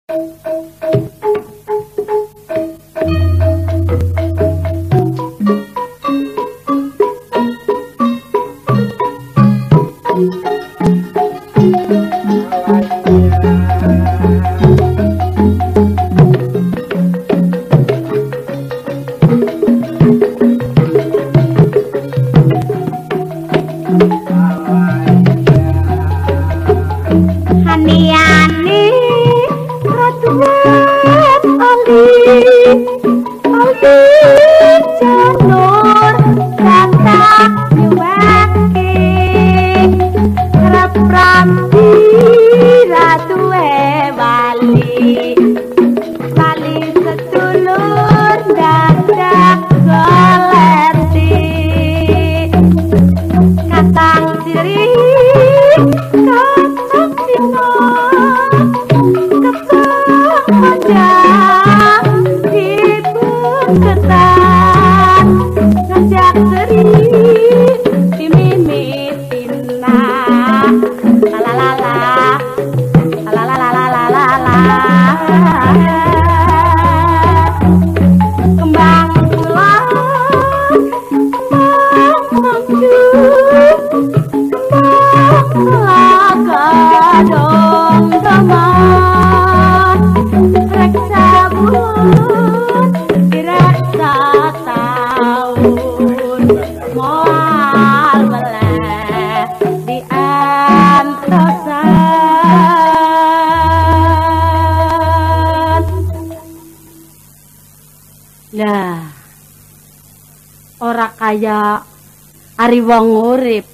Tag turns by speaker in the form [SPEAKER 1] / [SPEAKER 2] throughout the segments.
[SPEAKER 1] Kaya ari wong urip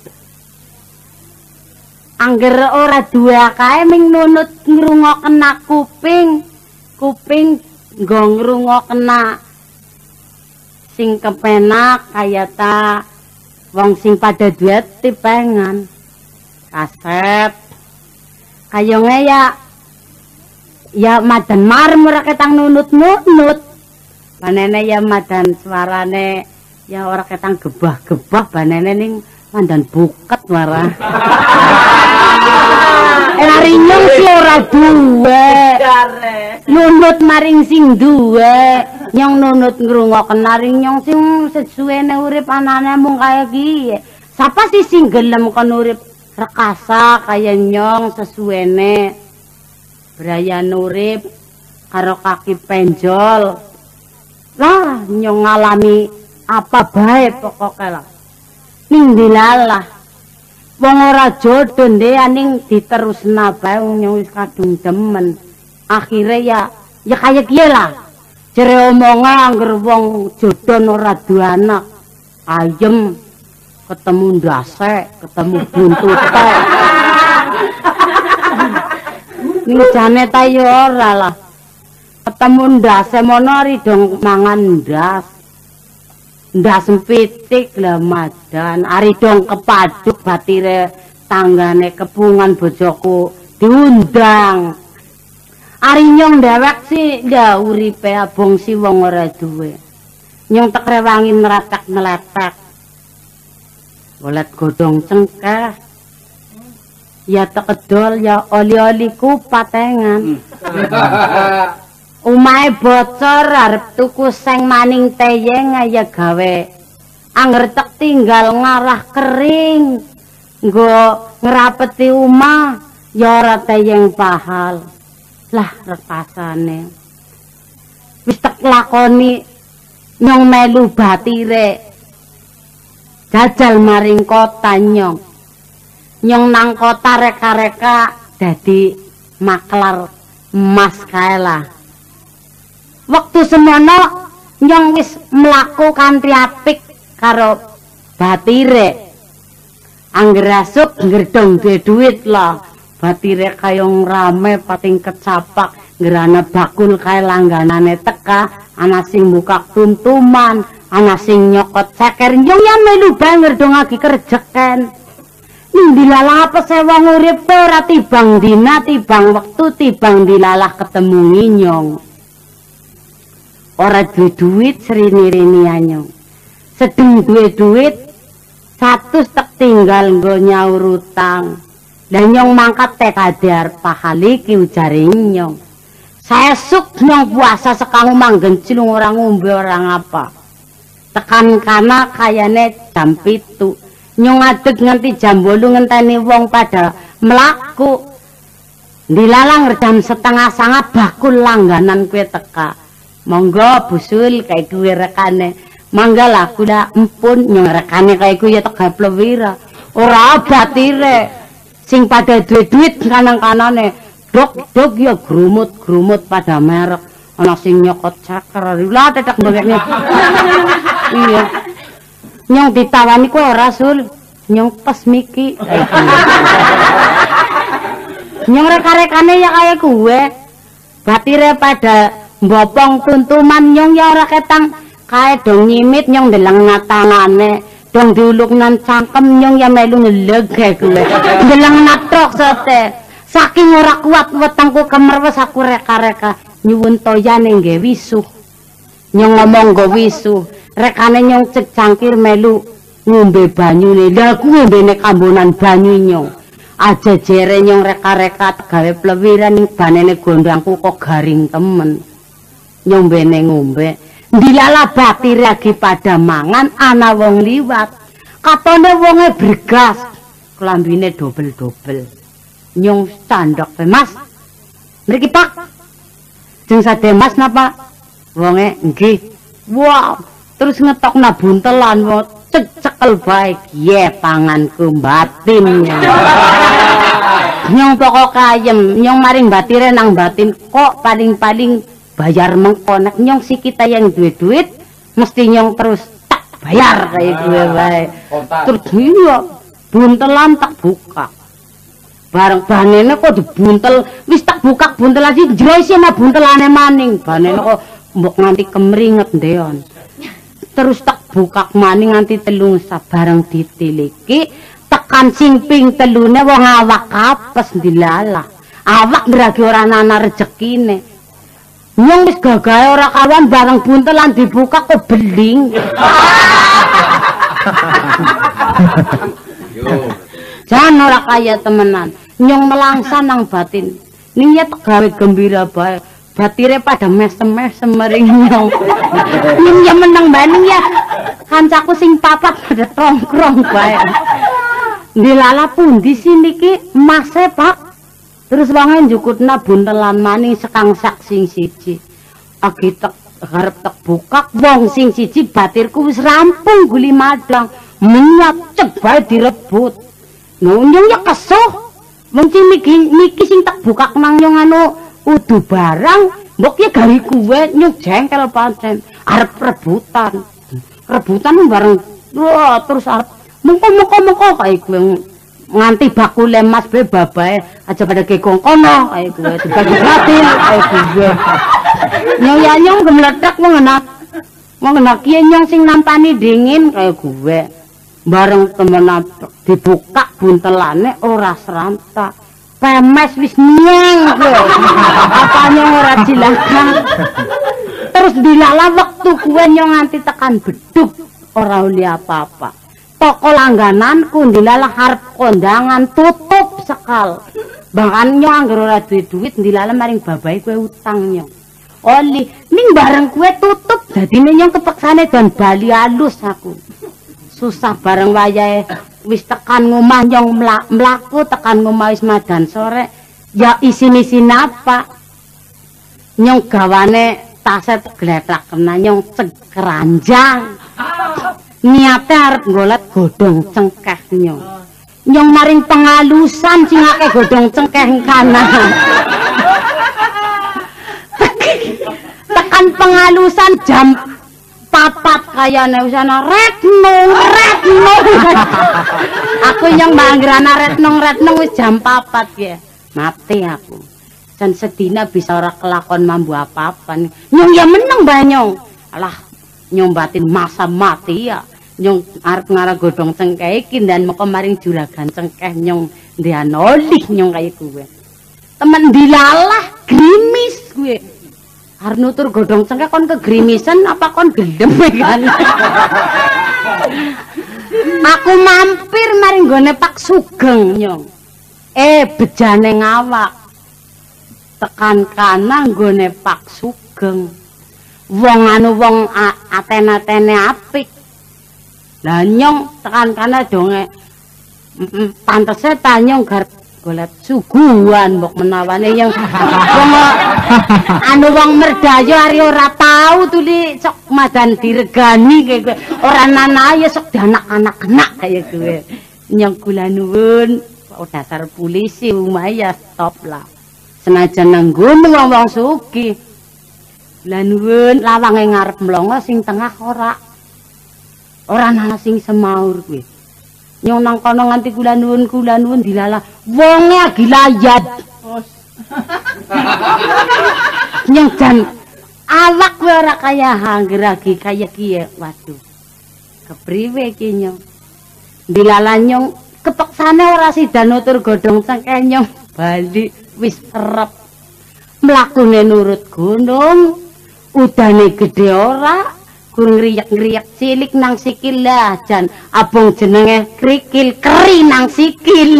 [SPEAKER 1] angger ora dua kae ming nunut ngrungokken kuping nggo ngrungokken sing kepenak kaya ta wong sing pada duet tipengan kaset kayonge ya madan marem ora ketang nunut-nunut panene ya madan suarane ya ora ketang gebah-gebah banene ning mandan buket marah. Lari nyong si ora duwe. Nunut maring sing duwe. Nyong nunut ngrungokken maring nyong sing sesuwene urip anane mung kaya kiye. Sapa sih sing gelem kon urip rekasa kaya nyong sesuwene. Brayan urip karo kaki penjol. Lah nyong ngalami apa bae pokoke lah ning dilalah wong ora jodoh ndeaning diterusna bae wong wis kadung demen akhire ya kaya kiye lah jere omonge angger wong jodoh ora duwe anak ayem ketemu ndase ketemu buntute ning jane ta yo ora lah ketemu ndase mono ari dong mangan ndas sempitik lah madan ari dong kepaduk batire tanggane kepungan bojoku diundang ari nyong dhewek sih ndak uripe abong si wong ora duwe nyong tek rewangi neratak-neletek golet godhong cengkeh ya tekedol ya oli-oli kupatengan Umahe bocor arep tuku seng maning teyeng ya gawe anger tek tinggal ngarah kering nggo ngrapeti umah ya ora teyeng pahal lah repasane wis tek lakoni nyong melu batire jajal maring kota nyong nang kota reka-reka dadi maklar emas kae lah. Waktu semono nyong wis mlaku kanthi apik karo batire. Angger asuk ngerdong duwe duit lah. Batire kayong rame pating kecapak ngerana bakul kae langganane teka, ana sing buka tuntuman, ana sing nyokot ceker. Nyong ya melu bae ngerdongake kerjeken. Ning dilalah apa wong urip ora tibang dina, tibang wektu, tibang dilalah ketemu nyong. Ora duwe duit srini-rini anyong. Sedeng duwe duit 100 tek tinggal nggo nyaur utang. Lah nyong mangkat tekade arep pahal iki ujare nyong. 1 Sesuk nyong puasa sekang manggen cilung orang ngombe orang apa. Tekan kana kayane jam 7. Nyong ngadeg nganti jam 8 ngenteni wong pada mlaku. Dilalang jam 8:30 bakul langganan kue teka. Monggo busul kayak gue rekane. Mangga lah kula empun nyong rekane kayak gue ya tega plewira. Ora batire. Sing pada duit kanang-kanane. Dok ya grumut pada merek. Ana sing nyokot caker. Lah tetek mbekne. Iya. Nyong ditawani kowe ora Sul. Nyong pas miki. Nyong reka-rekane ya kaya gue. Batire pada mbopong tuntuman nyong ya ora ketang kae dong nyimit nyong ndeleng natangane. Dong diuluknan cangkem nyong ya melu ngeleg kae gue. Ndeleng natrok sete. Saking ora kuat wetengku kemerwes aku reka-reka nyuwun toyane nggih wisuh. Nyong ngomong nggo wisuh. Rekane nyong cek cangkir melu ngombe banyune. Lah kuwi mbene kambonan banyu nyong. Aja jere nyong reka-reka gawe plewiran ning banene gondangku kok garing temen. Nyong mbene ngombe. Dilala batire lagi pada mangan ana wong liwat. Katone wonge bergas. Klambine dobel-dobel. Nyong candhok, "Mas. Mriki Pak." Jeng sade Mas napa? Wonge nggih. Wow, terus ngetokna buntelan cekel bae ye panganku batin. Nyong pokok ayem, nyong maring batire nang batin kok paling-paling bayar mengko nek nyong si kita yang duit mesti nyong terus tak bayar kayak gue bae. Terus iya buntelan tak buka. Bareng banene kok dibuntel wis tak buka buntelan sih jero isi ana buntelane maning. Banene kok mbok nganti kemringet ndeon. Terus tak buka maning nganti telung sabareng ditiliki tekan sing ping telune wong awak apes dilalah. Awak berarti ora ana rezekine. Nyong wis gagahe ora kawan bareng buntelan dibuka kok beling. Jan ora kaya temenan. Nyong melangsan nang batin. Ning ya tegawe gembira bae. Batire pada mesem-mesem mering nyong. Ning ya meneng bae ning ya. Kancaku sing papat pada tongkrong bae. Dilala pundi sini ki Mase Pak. Terus wangen jukutna buntelan maning sekang sak sing siji. Agi tek garep tek bukak wong sing siji batirku wis rampung guli madang. Menyat cek bae direbut. Nyong ya kesuh. Wong sing niki sing tak bukak nang nyong anu udu barang mbok ya gawe kuwe nyong jengkel pancen. Arep rebutan. Rebutan bareng. Wah, terus arep mengko kae kuwe nganti bakule Mas be babae aja pada gekong kono kae kuwe dibagi batin kae kuwe. Nyong gemletek wong enak kiye nyong sing nampani dingin kae kuwe. Bareng temen dibuka buntelane ora serantak. Pemes wis nyeng kuwe. Apanya ora dilakan. Terus dilala wektu kuwe nyong nganti tekan beduk ora uli apa-apa. Toko langgananku dilala harap kondangan tutup sekal. Bahkan nyong anggar ora duit dilala maring babai kue utang nyong. Oli ning bareng kue tutup dadine nyong kepeksane dan bali halus aku. Susah bareng wayahe wis tekan ngomah nyong mlaku tekan ngomah wis madan sore. Ya isin-isin apa? Nyong gawane taset gletak kena nyong cekeranjang. Niate arep golet godhong cengkeh nyong. Nyong maring pengalusan sing akeh godhong cengkeh kanan. Tekan pengalusan jam 4 kayane wis ana retno. Aku nyong mangrana retno wis jam 4 ya. Mati aku. Dan sedina bisa ora kelakon mambu apa-apa. Nyong ya meneng banyong. Alah nyong batin masa mati ya. Nyong arep ngarah godhong cengkeh iki dan moko maring juragan cengkeh nyong ndean olih nyong kaya kuwe. Temen dilalah grimis kuwe. Arep nutur godhong cengkeh kon kegrimisan apa kon gendem kan. Aku mampir maring gone Pak Sugeng nyong. Bejane ngawak. tekan kanan nggone Pak Sugeng. Wong anu wong aten-atene apik. Lah nyong tekan kanan donge pantese ta nyong garep golek suguhan mbok menawane yang wong anu wong merdayo ari ora tau tuli sok madan diregani kowe ora nana ya sok anak-anak kena kaya kowe nyong kula nuwun dasar polisi umaya stop lah senajan nang nggon wong-wong sugih kula nuwun lawange ngarep mlongo sing tengah ora ana sing semaur kowe nyong nang kono nganti kula nuwun dilala wonge agi layat nyong jan awak kowe ora kaya hangger agi kaya kiye waduh kepriwe ki nyong dilala nyong kepeksane ora sida nutur godhong cengkeh nyong bali wis kerep mlakune nurut gunung udane gede ora kurang ngriyak-ngriyak cilik nang sikil lah jan abong jenenge krikil keri nang sikil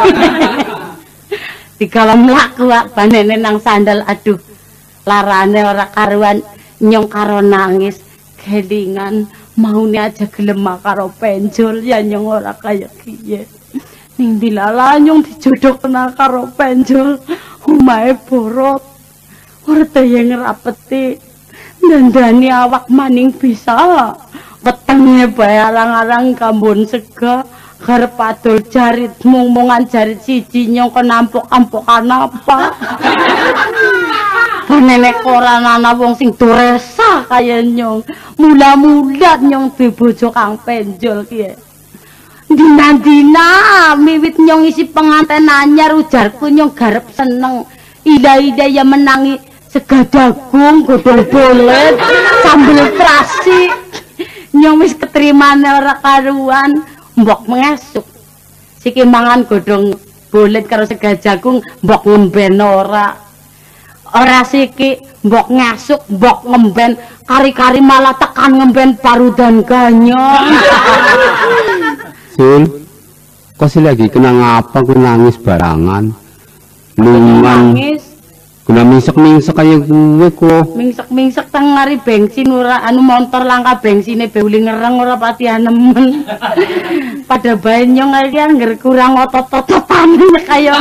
[SPEAKER 1] digawa mlaku banene nang sandal aduh larane ora karuan nyong karo nangis kelingan maune aja gelem karo penjol ya nyong ora kaya kiye ning dilala nyong dijodhokna karo penjol omahe borot ora tayang ngrapeti dandani awak maning bisa wetenge bae arang-arang kambon sega garep adol jarit mung-mungan jarit siji nyong kenampuk-ampukan apa nenek ora ana wong sing duresa kaya nyong mula-mula nyong duwe bojo kang penjol kiye dina-dina miwit nyong isi penganten anyar ujarku nyong garep seneng ida-ida ya menangi sega jagung, godhong bolet, sambel terasi. Nyong wis ketrimane ora karuan, mbok mengesuk. Siki mangan godhong bolet karo sega jagung, mbok ngemben ora. Ora siki mbok ngasuk, mbok ngemben, kari-kari malah tekan ngemben parudan ganyong.
[SPEAKER 2] Sul, kok sih lagi kenang apa ku nangis barangan? Luman. Nangis. Kena mingsek-mingsek kaya gue kok.
[SPEAKER 1] Mingsek-mingsek teng ngari bensin ora anu motor langka bensine beuli ngereng ora pati anemen. Pada bae nyong iki angger kurang otot-ototan kaya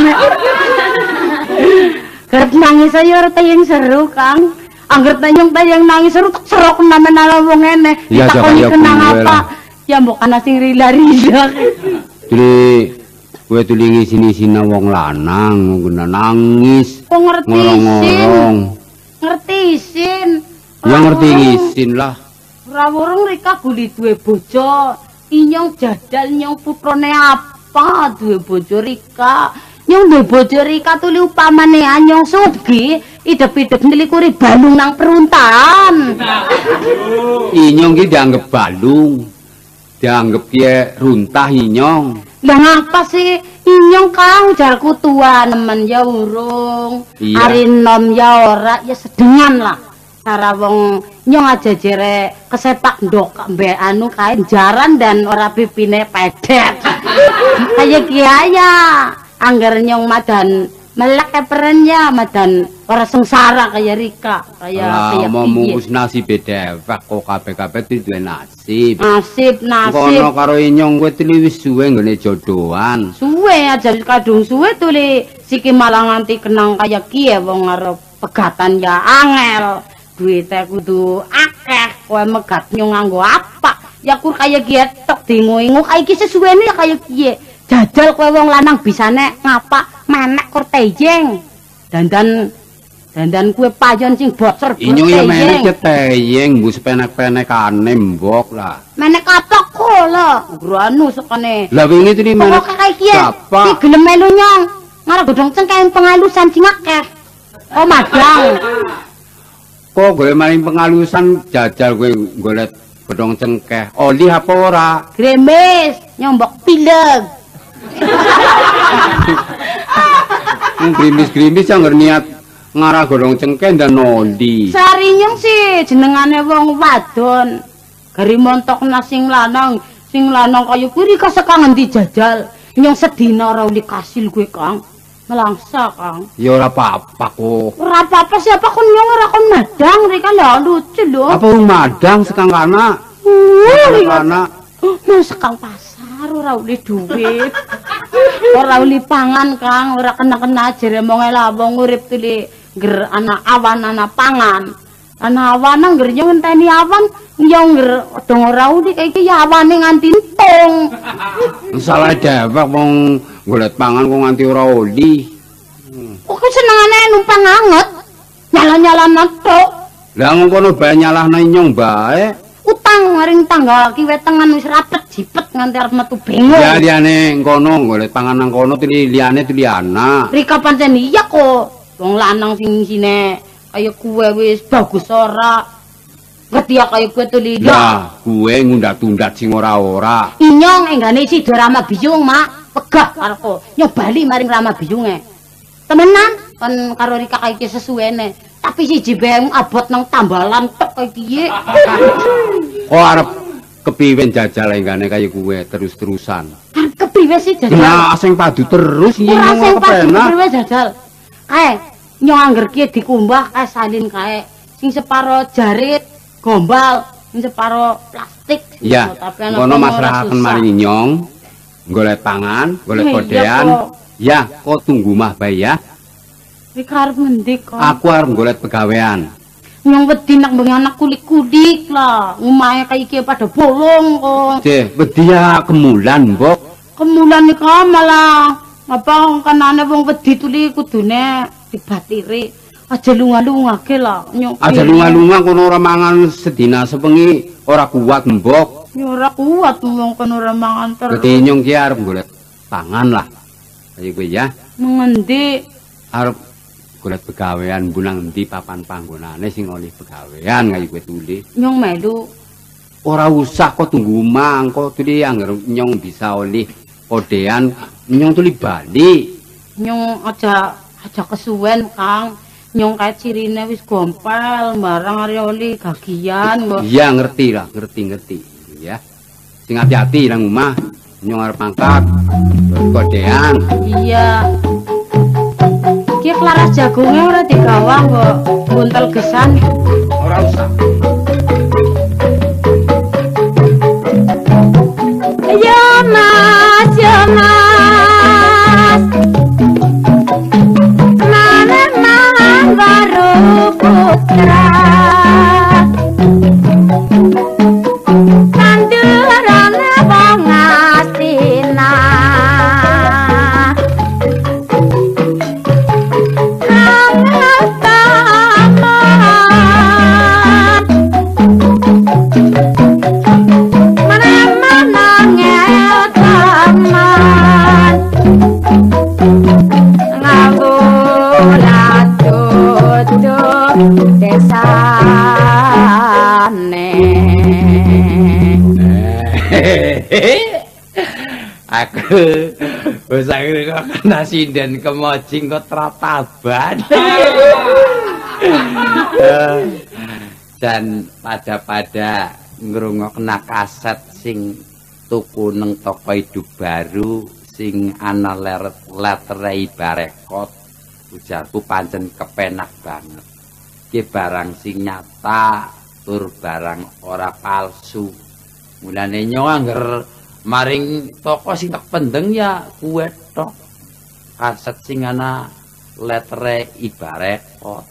[SPEAKER 1] garep nangis ayo ora tayang seru Kang. Angger tayang nangis seru tak serok namen-namen wong ngene. Ditakoni kenang apa? Ya mbok ana sing rila-rila.
[SPEAKER 2] Jadi gue tulingi sini-sini wong lanang, gue nangis.
[SPEAKER 1] Kok ngerti isin?
[SPEAKER 2] Ya ngerti isin lah.
[SPEAKER 1] Rawurung Rika guli duwe bojo. Inyong jadal nyong putrone apa duwe bojo Rika. Nyong duwe bojo Rika tuli upamane anyong sugih, idep-idep nilikuri balung nang peruntahan.
[SPEAKER 2] Inyong ki dianggep balung. Dianggep ki runtah inyong.
[SPEAKER 1] Lah ngapa sih inyong Kang jarku tua nemen ya urung.
[SPEAKER 2] Iya.
[SPEAKER 1] Ari nom ya ora ya sedengan lah. Cara wong nyong aja jere kesepak ndok mbek anu kae jaran dan ora pipine pedet. Kaya kiaya angger nyong madan melek keperennya madan ora sengsara kaya Rika kaya
[SPEAKER 2] mau mungkus nasi beda kok kabeh-kabeh duwe nasib.
[SPEAKER 1] Nasib.
[SPEAKER 2] Kono karo inyong kowe tuli wis suwe nggone jodohan.
[SPEAKER 1] Suwe aja kadung suwe tuli siki malah nganti kenang kaya kiye wong arep pegatan ya angel. Duite kudu akeh kowe megat nyong nganggo apa? Ya kur kaya kiye tok dingu-ingu iki sesuwene ya kaya kiye. Jajal kowe wong lanang bisane ngapa menek kur teyeng. Dandan kue payon sing bocor bocor.
[SPEAKER 2] Inyong ya menek teyeng mbus penek-penekane mbok lah.
[SPEAKER 1] Menek apa kok lho? Granu sekane.
[SPEAKER 2] Lah wingi tuli menek.
[SPEAKER 1] Kok kaya kiye? Ki gelem melu nyong. Ngarep godhong cengkeh pengalusan sing akeh. Oh madang.
[SPEAKER 2] Kok gue maling pengalusan jajal gue golek godhong cengkeh. Oli apa ora?
[SPEAKER 1] Gremes, nyombok pileg.
[SPEAKER 2] Grimis-grimis yang niat ngarah godhong cengkeh dan oli.
[SPEAKER 1] Sarinyong sih jenengane wong wadon. Gari montokna sing lanang kaya kuwi kasek ngendi jajal. Nyong sedina ora uli kasil gue Kang. Melangsa, Kang.
[SPEAKER 2] Ya ora apa-apa kok.
[SPEAKER 1] Ora apa-apa siapa kon nyong ora kon madang rika lho lucu lho.
[SPEAKER 2] Apa wong madang sekang kana? Kana.
[SPEAKER 1] Sekang pasar ora uli duit. Ora uli pangan, Kang, ora kena-kena jere monge lah wong urip tuli ngger ana awan ana pangan. Ana awan ngger yo ngenteni awan yo ngger dong ora uli iki ya awane nganti entung.
[SPEAKER 2] Salah dewek wong golek pangan kok nganti ora oli.
[SPEAKER 1] Kok senengane numpang anget. Nyala-nyalana tok.
[SPEAKER 2] Lah ngono bae nyalahna nyong bae.
[SPEAKER 1] Utang maring tangga kiwe tengen wis rapet jipet nganti arep metu bingung.
[SPEAKER 2] Ya liyane ngono golek pangan nang kono liyane tuli ana.
[SPEAKER 1] Rika pancen iya kok. Wong lanang sing sine kaya kuwe wis bagus ora. Ngerti ya kaya kuwe tuli.
[SPEAKER 2] Ya, kuwe ngundat-undat sing ora-ora.
[SPEAKER 1] Inyong enggane sida Rama Biyung, Mak. Pegah karepku nyobali maring Rama Biyunge. Temenan kan karo Rika kaya iki sesuwene. Tapi siji bae abot nang tambalan tok kaya piye.
[SPEAKER 2] Kok arep kepiwen jajal enggane kaya kuwe terus-terusan.
[SPEAKER 1] Arep kepiwe sih jajal?
[SPEAKER 2] Nah, sing padu terus iki
[SPEAKER 1] ora sing padu
[SPEAKER 2] kepenak.
[SPEAKER 1] kepiwe jajal. Kae nyong angger ki dikumbah kae salin kae. Sing separo jarit, gombal, sing separo plastik.
[SPEAKER 2] Iya, kono masrahaken maring nyong. Golek pangan, golek kodean. Ya, kok tunggu mah bae ya.
[SPEAKER 1] Rika arep ngendi kok?
[SPEAKER 2] Aku arep golek pegawean.
[SPEAKER 1] Nyong wedi nak bengi anak kulik-kulik lah. Omahe kaya iki pada bolong kok.
[SPEAKER 2] Cih, wedi ya kemulan, Mbok.
[SPEAKER 1] Kemulan iki malah apa kanane wong wedi tuli kudune dibatiri. Aja lunga-lungake lah.
[SPEAKER 2] Aja lunga-lunga kono ora mangan sedina sepengi ora kuat, Mbok.
[SPEAKER 1] Ya ora kuat wong kono ora mangan terus.
[SPEAKER 2] Dadi nyong ki arep golek pangan lah. Ayo kowe ya.
[SPEAKER 1] Mengendi?
[SPEAKER 2] Arep golek pegawean bunang endi papan panggonane sing oleh pegawean kaya kowe tuli.
[SPEAKER 1] Nyong melu.
[SPEAKER 2] Ora usah kok tunggu mangko tuli angger nyong bisa oleh kodean nyong tuli bali.
[SPEAKER 1] Nyong aja kesuwen, Kang. Nyong kae cirine wis gompel barang are oli gagian kok.
[SPEAKER 2] Iya ngerti lah, ngerti ya. Sing hati-hati nang omah. Nyong arep mangkat. Kodean.
[SPEAKER 1] Iya. Ki klaras jagonge ora digawang kok. Buntel gesan.
[SPEAKER 2] Ora usah.
[SPEAKER 1] Ya Mas, ya Mas. Mana baru putra. Kandurane wong asina.
[SPEAKER 3] Aku wis akhire kok kena sinden kemojing kok trataban. Dan pada ngrungokna kaset sing tuku nang toko hidup baru sing ana letere Barekot. Ujarku pancen kepenak banget. Ki barang sing nyata tur barang ora palsu. Mulane nyong angger maring toko sing tak pendeng ya kuwe tok. Kaset sing ana letere Barekot.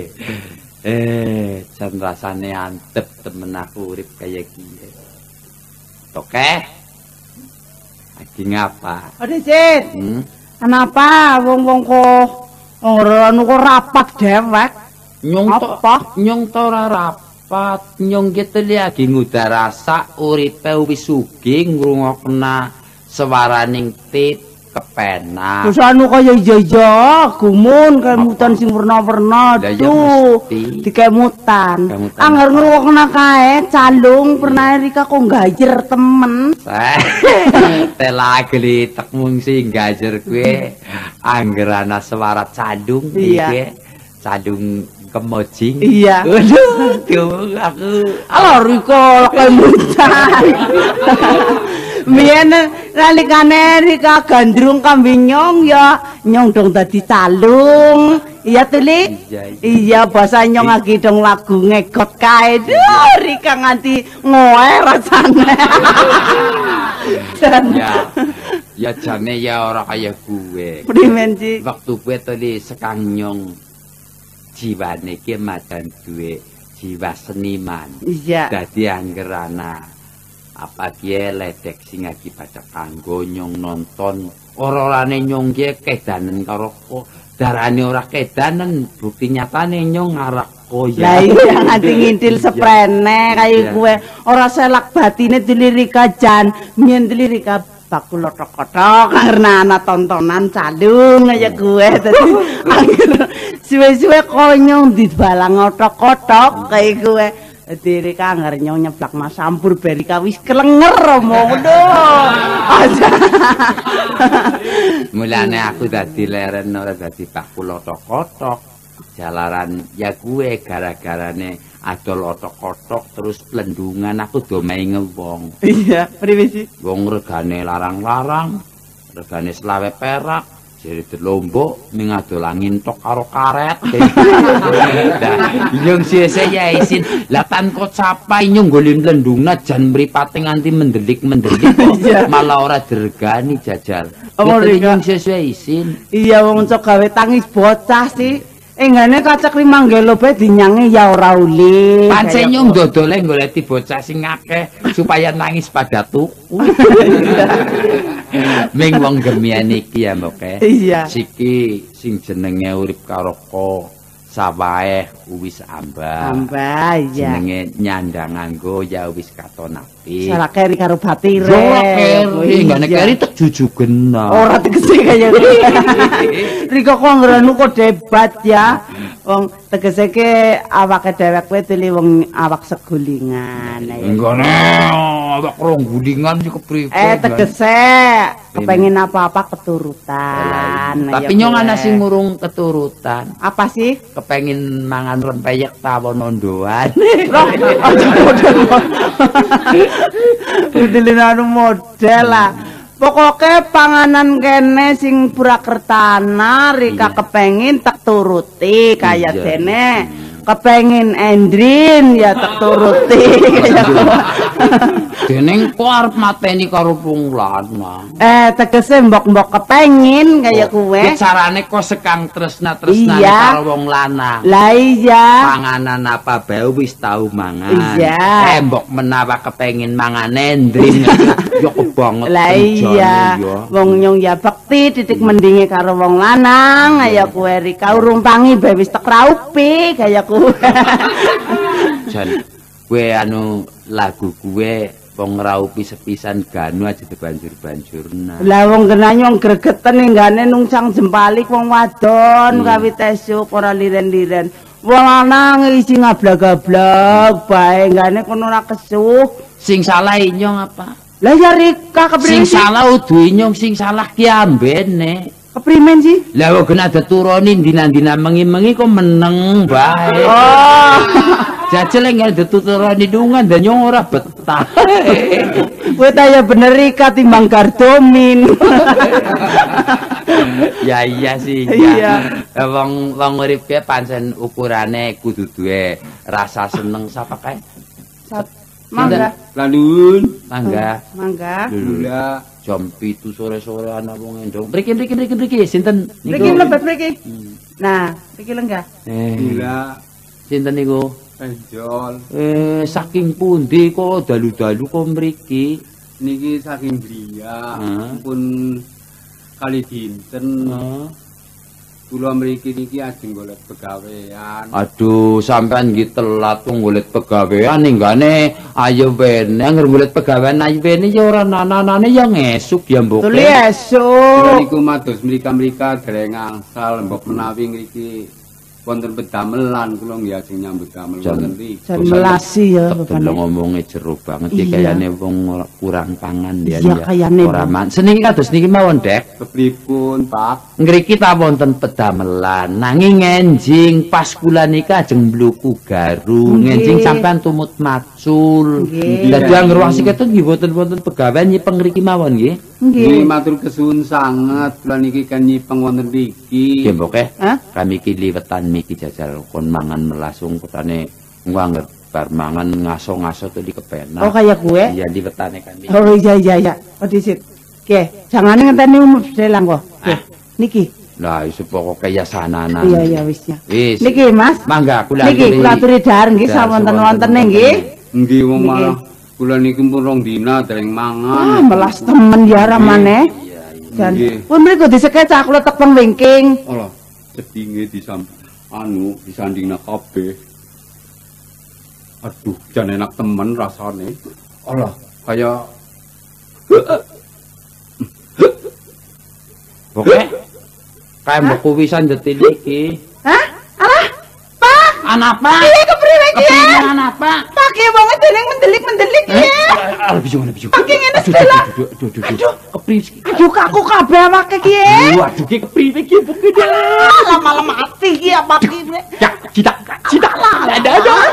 [SPEAKER 3] Jan rasane antep temen aku urip kaya kiye. Oke. Lagi ngapa?
[SPEAKER 1] Ade Cid. Kenapa wong-wong kok ora anu kok rapat dewek?
[SPEAKER 3] Nyong to ora rapat, nyong gitu lagi ngudarasa uripe wis sugih ngrungokna swaraning tit kepenak.
[SPEAKER 1] Terus anu kaya iya gumun kemutan sing warna-warna tuh dikemutan. Angger ngrungokna kae calung pernah Rika kok gajer temen.
[SPEAKER 3] Tela gelitek mung sing gajer kuwi angger ana swara cadung iki. Cadung kemojing.
[SPEAKER 1] Iya.
[SPEAKER 3] Waduh, aku
[SPEAKER 1] Rika kemutan. Biyen nalikane Rika gandrung kambing nyong ya nyong dong dadi calung. Iya Tuli? Iya basa nyong lagi dong lagu ngegot kae. Duh, Rika nganti ngoe rasane.
[SPEAKER 3] Ya jane ya ora kaya gue.
[SPEAKER 1] Primen sih?
[SPEAKER 3] Waktu gue tadi sekang nyong jiwane ki madan duwe jiwa seniman.
[SPEAKER 1] Iya.
[SPEAKER 3] Dadi angger ana apa kiye ledek sing akibat kanggo nyong nonton ora-orane nyong ki kedanen karo darane ora kedanen bukti nyatane nyong ngarak koya.
[SPEAKER 1] Lah iya nganti ngintil seprene kaya gue ora selak batine dilirika jan mien dilirika bakul otok-otok karena ana tontonan calung kaya gue dadi suwe-suwe konyong dibalang otok-otok kaya gue diri kanger nyong nyeblak mas sampur beri kawis kelenger ngono aja.
[SPEAKER 3] Mulane aku dadi leren ora dadi bakul otok-otok. Jalaran ya gue gara-garane adol otok-otok terus plendungan aku do main wong.
[SPEAKER 1] Iya, priwe sih?
[SPEAKER 3] Wong regane larang-larang, regane 20 perak. Jadi terlombok mengadol angin tok karo karet. Nah, inyong saya isin latan kok capai inyong golin lendungna jan mripate nganti mendelik-mendelik malah ora diregani jajal. Inyong saya isin.
[SPEAKER 1] Iya wong cok gawe tangis bocah sih. Enggane kacek limanggelo bae dinyange ya ora uli.
[SPEAKER 3] Pancen nyong dodole goleti bocah sing akeh supaya nangis pada tuku. Ming wong gemian iki ya mbok.
[SPEAKER 1] Iya.
[SPEAKER 3] Siki sing jenenge urip karo ko sawahe wis ambah.
[SPEAKER 1] Ambah iya.
[SPEAKER 3] Jenenge nyandang nganggo ya wis katon apik.
[SPEAKER 1] Salah keri karo batire.
[SPEAKER 3] Ora keri, ngene keri tek jujugen.
[SPEAKER 1] Ora tegese kaya Riko kok ngrenu kok debat ya. Wong tegese ke awake dhewek kuwi tili wong awak segulingan.
[SPEAKER 3] Enggane awak rong gulingan iki kepriwe.
[SPEAKER 1] Tegese kepengin apa-apa keturutan.
[SPEAKER 3] Tapi nyong ana sing ngurung keturutan.
[SPEAKER 1] Apa sih?
[SPEAKER 3] Kepengin mangan rempeyek tawon ondoan.
[SPEAKER 1] Udilin model lah. Pokoknya panganan kene sing Purakertana Rika kepengin tak turuti kaya dene. Kepengin Endrin ya tak turuti kaya
[SPEAKER 3] Deneng kok arep mateni karo wong lanang.
[SPEAKER 1] Tegese mbok-mbok kepengin kaya kuwe.
[SPEAKER 3] Carane kok sekang tresna-tresnane karo wong lanang.
[SPEAKER 1] Lah iya.
[SPEAKER 3] Panganan apa bae wis tau mangan.
[SPEAKER 1] Iya.
[SPEAKER 3] Mbok menawa kepengin mangan Endrin. Ya kebanget.
[SPEAKER 1] Lah iya. Wong nyong ya bekti titik mendinge karo wong lanang kaya kuwe Rika urumpangi bae wis tek raupi kaya kuwe.
[SPEAKER 3] Jan kuwe anu lagu kuwe wong ngraupi sepisan ganu aja dibanjur-banjurna. Lah
[SPEAKER 1] wong genah nyong gregeten enggane nungsang jempalik wong wadon kawit esuk ora liren-liren. Wong lanang isi ngablag-ablag bae enggane kono ora kesuh.
[SPEAKER 3] Sing salah inyong apa?
[SPEAKER 1] Lah ya Rika keprimen
[SPEAKER 3] sing salah udu inyong sing salah ki ambene.
[SPEAKER 1] Keprimen sih?
[SPEAKER 3] Lah wong kena dituruni dina-dina mengi-mengi kok meneng bae.
[SPEAKER 1] Oh.
[SPEAKER 3] Jajal enggak dituturani dungan dan nyong ora betah.
[SPEAKER 1] Kowe ta ya bener Rika timbang gardomin.
[SPEAKER 3] Ya iya sih.
[SPEAKER 1] Iya.
[SPEAKER 3] Wong urip ki pancen ukurane kudu duwe rasa seneng sapa kae.
[SPEAKER 1] Mangga.
[SPEAKER 3] Lanun. Mangga.
[SPEAKER 1] Mangga.
[SPEAKER 3] Lula jam 7 sore-sore ana wong endong. Mriki sinten niku?
[SPEAKER 1] Mriki lebet mriki. Nah, mriki lenggah.
[SPEAKER 3] Lula. Sinten niku?
[SPEAKER 4] Penjol.
[SPEAKER 3] Saking pundi kok dalu-dalu kok mriki?
[SPEAKER 4] Niki saking Bria. Pun kali dinten. Kula mriki niki ajeng golek pegawean.
[SPEAKER 3] Aduh, sampean nggih telat wong golek pegawean ninggane ayo wene anger golek pegawean ayo wene ya ora nanane ya ngesuk ya mbok.
[SPEAKER 1] Tuli esuk.
[SPEAKER 4] Niku mados mrika-mrika dereng angsal mbok menawi ngriki wonten pedamelan kula nggih ajeng nyambut damel wonten iki.
[SPEAKER 5] Jan melasi ya
[SPEAKER 3] Bapak. Lho ngomongnya jero banget iki kayane wong kurang pangan ya.
[SPEAKER 5] Iya kayane.
[SPEAKER 3] Ora man. Seniki kados niki mawon, Dek.
[SPEAKER 4] Kepripun, Pak?
[SPEAKER 3] Ngriki ta wonten pedamelan, nanging enjing pas kula niki ajeng mbluku garu, enjing sampean tumut macul. Dadi anggere wong siketut nggih wonten pegawean nyipeng ngriki mawon nggih.
[SPEAKER 4] Nggih, matur kesuwun sanget. Kula niki kan nyipeng wonten mriki.
[SPEAKER 3] Nggih, Mbok. Kami iki liwetan miki jajal kon mangan melasung kutane engko anggere bar mangan ngaso-ngaso tuh di kepenak.
[SPEAKER 5] Oh kayak gue?
[SPEAKER 3] Iya liwetane kami.
[SPEAKER 5] Oh iya. Oh disit. Oke, jangan ngenteni umum selang kok. Niki.
[SPEAKER 3] Lah iso pokoke ya sananan.
[SPEAKER 5] Iya wis ya.
[SPEAKER 3] Wis.
[SPEAKER 5] Niki Mas.
[SPEAKER 3] Mangga kula
[SPEAKER 5] Niki kula aturi dahar nggih sawonten-wontene nggih.
[SPEAKER 4] Nggih wong malah kula niki pun rong dina dereng mangan.
[SPEAKER 5] Melas temen ya ramane.
[SPEAKER 3] Iya.
[SPEAKER 5] Dan pun mriku disekecah kula tepeng wingking.
[SPEAKER 4] Allah, sedinge disandingna kabeh. Aduh, jan enak temen rasane. Allah, kaya
[SPEAKER 3] Pokoke kae mbok kuwisan detil iki.
[SPEAKER 5] Hah? Alah, Pak.
[SPEAKER 3] Anapa?
[SPEAKER 5] Iya kepriwe iki?
[SPEAKER 3] Kepriwe anapa?
[SPEAKER 5] Pak ki wong dening mendelik-mendelik iki.
[SPEAKER 3] Alah bijo.
[SPEAKER 5] Pakai ngene setelah.
[SPEAKER 3] Aduh, kepriwe iki?
[SPEAKER 5] Aduh kaku kabeh awake ki.
[SPEAKER 3] Waduh ki kepriwe iki pokoke.
[SPEAKER 5] Malam mati ki apa ki.
[SPEAKER 3] Ya, cita lah. Ada.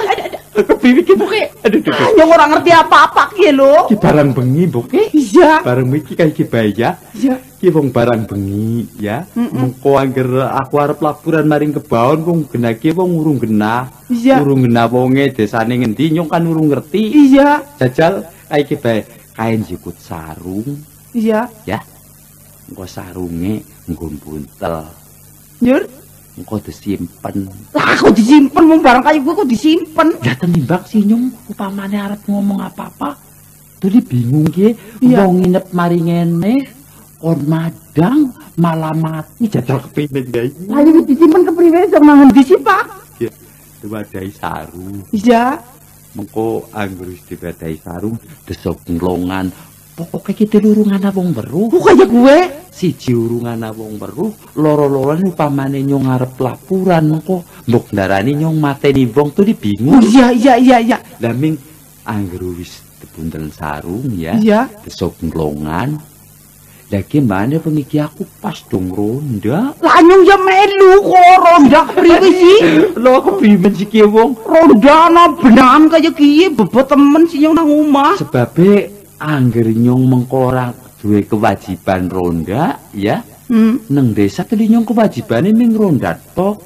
[SPEAKER 3] Kepriwe iki pokoke. Aduh.
[SPEAKER 5] Yang ora ngerti apa-apa ki lho.
[SPEAKER 3] Ki barang bengi, Mbok.
[SPEAKER 5] Iya.
[SPEAKER 3] Barang iki kae iki bae ya.
[SPEAKER 5] Iya.
[SPEAKER 3] Ki wong barang bengi ya. Mengko anggere aku arep laporan maring kebaon wong genah ki wong urung genah.
[SPEAKER 5] Iya.
[SPEAKER 3] Urung genah wonge desane ngendi nyong kan urung ngerti.
[SPEAKER 5] Iya.
[SPEAKER 3] Jajal kae iki bae kain jikut sarung.
[SPEAKER 5] Iya.
[SPEAKER 3] Ya. Engko sarunge nggo buntel.
[SPEAKER 5] Nyur.
[SPEAKER 3] Engko disimpen.
[SPEAKER 5] Lah kok disimpen wong barang kayu kuwi kok disimpen.
[SPEAKER 3] Ya tenimbang si nyong upamane arep ngomong apa-apa. Tadi bingung ki
[SPEAKER 5] Iya.
[SPEAKER 3] wong nginep mari ngene kon madang malah mati jajal kepingin guys.
[SPEAKER 5] Lah iki disimpen kepriwe sama ngendi sih, Pak?
[SPEAKER 3] Ya, diwadahi sarung.
[SPEAKER 5] Iya.
[SPEAKER 3] Mengko anggere wis diwadahi sarung desok nglongan. Pokoke iki urung ana wong weruh.
[SPEAKER 5] Kok kaya gue?
[SPEAKER 3] Siji urung ana wong weruh, loro-loron upamane nyong arep laporan mengko mbok ndarani nyong mateni wong tuh bingung.
[SPEAKER 5] Iya.
[SPEAKER 3] Lah ming anggere wis dibuntel sarung ya.
[SPEAKER 5] Iya.
[SPEAKER 3] Desok nglongan. Lah gimana pengiki aku pas dong ronda.
[SPEAKER 5] Lah nyung ya melu kok ronda kepriwe sih?
[SPEAKER 3] Lho keprimen sih ki wong?
[SPEAKER 5] Ronda ana benangan kaya kiye bebot temen sih nyung nang omah.
[SPEAKER 3] Sebabe anggere nyong mengko ora duwe kewajiban ronda ya. Neng desa tadi nyong kewajibane ming ronda tok.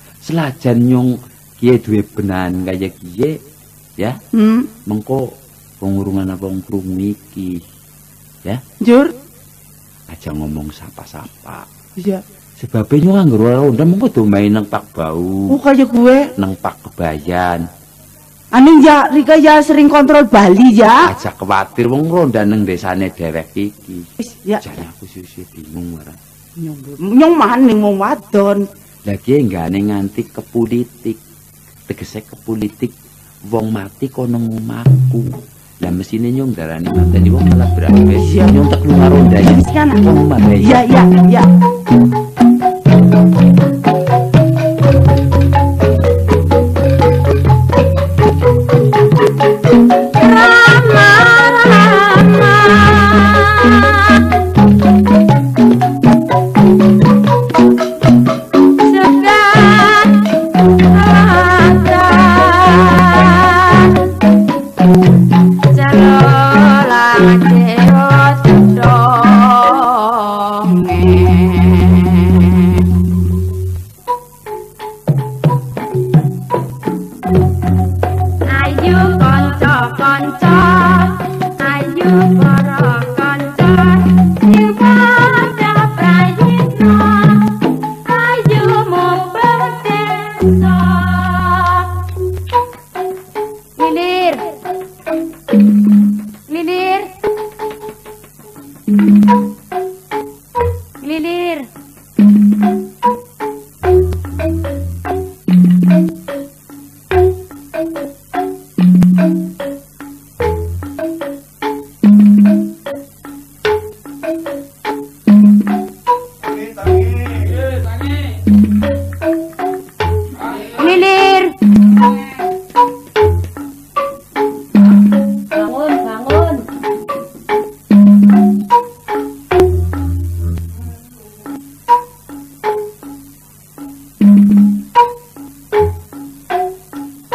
[SPEAKER 3] Selajan nyong kiye duwe benan kaya kiye ya. Mengko wong urungan apa wong krungu iki. Ya.
[SPEAKER 5] Jur.
[SPEAKER 3] Aja ngomong sapa-sapa.
[SPEAKER 5] Iya.
[SPEAKER 3] Sebab nyong anggere ronda mengko do main nang Pak Bau.
[SPEAKER 5] Oh kaya gue.
[SPEAKER 3] Nang Pak Kebayan.
[SPEAKER 5] Aning ya Rika ya sering kontrol Bali ya.
[SPEAKER 3] Aja kuwatir wong ronda nang desane dhewek iki.
[SPEAKER 5] Wis ya.
[SPEAKER 3] Jane aku sisi bingung ora.
[SPEAKER 5] Nyong maning wong wadon.
[SPEAKER 3] Lagi enggane nganti ke politik. Tegese ke politik wong mati kono ngomahku. Lah mesine nyong darane mateni wong malah berabe.
[SPEAKER 5] Iya.
[SPEAKER 3] Nyong tak lunga ronda ya.
[SPEAKER 5] Wis kan.
[SPEAKER 3] Wong malah
[SPEAKER 5] Iya.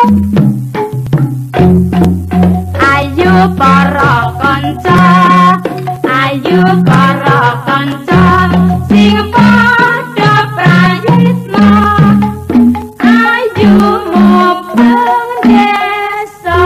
[SPEAKER 1] Ayo para kanca, ayo para kanca sing padha prayitna. Ayo mubeng desa.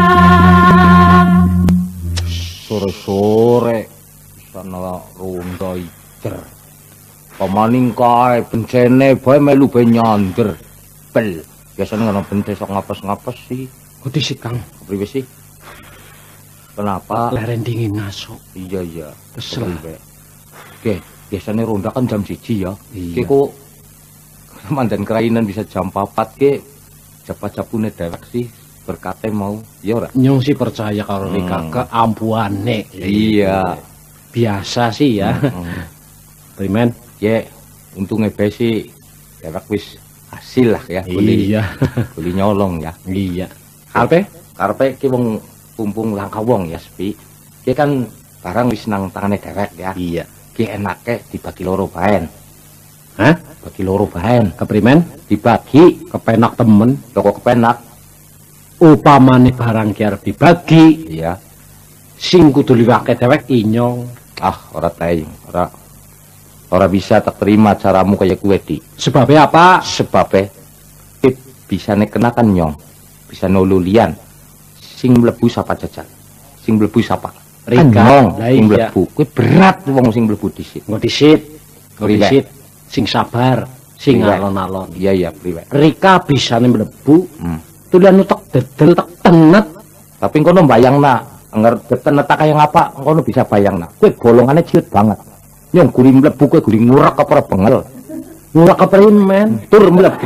[SPEAKER 6] Sore-sore sana ronda ijer. Pamaning kae bencene bae melu bae nyander. Bel, biasane ngono bente sok ngapes-ngapes sih.
[SPEAKER 7] Kok disit Kang?
[SPEAKER 6] Kepriwe sih? Kenapa?
[SPEAKER 7] Leren dingin ngasuk.
[SPEAKER 6] Iya.
[SPEAKER 7] Kesel.
[SPEAKER 6] Oke, biasanya ronda kan jam 1 ya.
[SPEAKER 7] Iya.
[SPEAKER 6] Oke kok mandan kerainan bisa jam 4 ke japa-japune dewek sih berkate mau. Ya ora?
[SPEAKER 7] Nyong sih percaya karo Rika keampuane.
[SPEAKER 6] Iya.
[SPEAKER 7] Biasa sih ya. Primen?
[SPEAKER 6] Ya, untungnya bae sih dewek wis hasil lah ya.
[SPEAKER 7] Iya.
[SPEAKER 6] Boleh nyolong ya.
[SPEAKER 7] Iya. Karepe
[SPEAKER 6] ki wong pumpung langka wong ya sepi. Ki kan barang wis nang tangane dewek ya.
[SPEAKER 7] Iya.
[SPEAKER 6] Ki enake dibagi loro baen.
[SPEAKER 7] Hah?
[SPEAKER 6] Bagi loro baen.
[SPEAKER 7] Keprimen?
[SPEAKER 6] Dibagi
[SPEAKER 7] Kepenak temen.
[SPEAKER 6] toko kepenak.
[SPEAKER 7] Upamane barang ki arep dibagi,
[SPEAKER 6] Iya.
[SPEAKER 7] sing kudu liwake dewek inyong.
[SPEAKER 6] Ah, ora tae. Ora bisa tak terima caramu kayak gue di.
[SPEAKER 7] Sebabnya apa?
[SPEAKER 6] Sebabnya bisa kenakan nyong. Bisa nolulian. Sing mlebu sapa jajal. Sing mlebu sapa.
[SPEAKER 7] Rika.
[SPEAKER 6] Nyong
[SPEAKER 7] Lah
[SPEAKER 6] sing
[SPEAKER 7] iya.
[SPEAKER 6] mlebu. Kuwi berat wong sing mlebu disit.
[SPEAKER 7] Nggo disit. Nggo
[SPEAKER 6] Priwe.
[SPEAKER 7] disit. Sing sabar, sing
[SPEAKER 6] Priwe.
[SPEAKER 7] alon-alon.
[SPEAKER 6] Iya, priwe.
[SPEAKER 7] Rika bisane mlebu,
[SPEAKER 6] Hmm.
[SPEAKER 7] tulian utek dedel tek tenet.
[SPEAKER 6] Tapi kono bayangna, anger detenet kaya ngapa, kono bisa bayangna. Kowe golongane ciut banget. Nyong guri mlebu kowe guri ngurak apa ora bengel.
[SPEAKER 7] Ngurak keprimen.
[SPEAKER 6] Tur mlebu.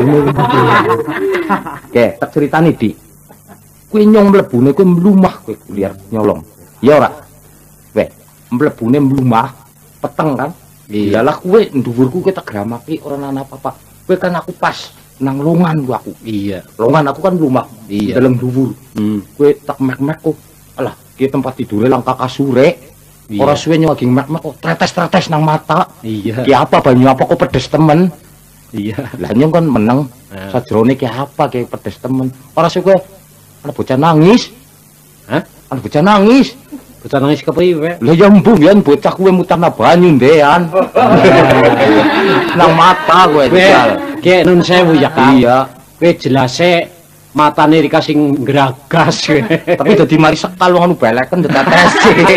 [SPEAKER 6] Oke, tak ceritani di. Kowe nyong mlebune kowe mlumah kowe kuliah nyolong. Ya ora? Weh, mlebune mlumah peteng kan?
[SPEAKER 7] Iya.
[SPEAKER 6] Iyalah kowe dhuwurku kowe tak gramaki ora ana apa-apa. Kowe kan aku pas nang longan ku aku.
[SPEAKER 7] Iya.
[SPEAKER 6] Longan aku kan mlumah.
[SPEAKER 7] Iya.
[SPEAKER 6] Dalam dhuwur. Kowe tak mek-mek kok. Alah, ki tempat tidure langka kasure.
[SPEAKER 7] Iya.
[SPEAKER 6] Ora suwe nyong lagi mek-mek kok tretes-tretes nang mata.
[SPEAKER 7] Iya.
[SPEAKER 6] Ki apa banyu apa kok pedes temen.
[SPEAKER 7] Iya.
[SPEAKER 6] Lah nyong kan meneng. Sajrone ki apa ki pedes temen. Ora suwe kowe ana bocah nangis.
[SPEAKER 7] Hah?
[SPEAKER 6] Ana bocah nangis.
[SPEAKER 7] Bocah nangis kepriwe?
[SPEAKER 6] Lah ya mbuh yen bocah kowe mutarna banyu ndean. Nang mata kowe jajal.
[SPEAKER 7] Ki nun sewu ya Kang.
[SPEAKER 6] Iya.
[SPEAKER 7] Kowe jelase matane Rika sing gragas.
[SPEAKER 6] Tapi dadi mari sekal wong anu beleken tetes.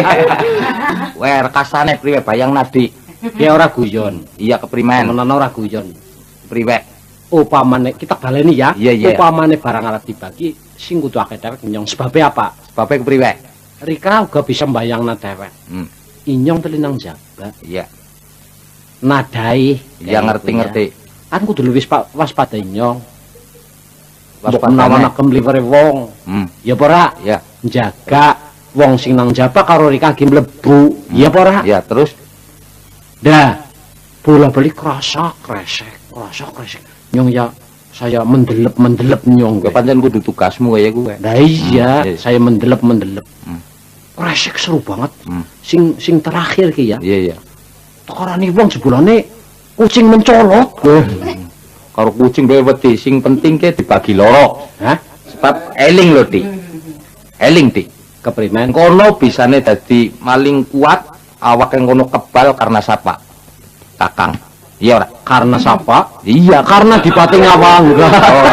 [SPEAKER 6] Weh rekasane priwe bayang nadi.
[SPEAKER 7] Ki ora guyon.
[SPEAKER 6] Iya keprimen.
[SPEAKER 7] Menawa ora guyon.
[SPEAKER 6] Priwe.
[SPEAKER 7] Upamane kita baleni ya.
[SPEAKER 6] Iya, iya.
[SPEAKER 7] Upamane barang arep dibagi sing kudu akeh dewek nyong. Sebabnya apa?
[SPEAKER 6] Sebabnya kepriwe.
[SPEAKER 7] Rika uga bisa mbayangna dewek. Inyong telinang jabat.
[SPEAKER 6] Iya.
[SPEAKER 7] Nadai.
[SPEAKER 6] Iya ngerti-ngerti.
[SPEAKER 7] Kan kudu luwih waspada inyong.
[SPEAKER 6] Waspadane.
[SPEAKER 7] Menawa kemliwere wong. Ya apa ora?
[SPEAKER 6] Iya.
[SPEAKER 7] Jaga wong sing nang jaba karo Rika ki mlebu. Ya apa ora?
[SPEAKER 6] Iya, terus
[SPEAKER 7] Dah. Bola-bali krasa kresek. Nyong ya saya mendelep nyong.
[SPEAKER 6] kowe pancen kudu tugasmu kaya kowe.
[SPEAKER 7] Nah iya,
[SPEAKER 6] iya.
[SPEAKER 7] saya mendelep. Kresek seru banget. Sing terakhir ki ya.
[SPEAKER 6] Iya, iya.
[SPEAKER 7] Tekarane wong jebulane kucing mencolot.
[SPEAKER 6] Karo kucing dhewe wedi, sing penting ke dibagi loro.
[SPEAKER 7] Hah?
[SPEAKER 6] Sebab eling lho, Dik. Eling, Dik.
[SPEAKER 7] Keprimen?
[SPEAKER 6] Kono bisane dadi maling kuat, awak yang kono kebal karena sapa? Kakang. Iya ora?
[SPEAKER 7] Karena sapa?
[SPEAKER 6] Iya,
[SPEAKER 7] Karena dipati ngawang.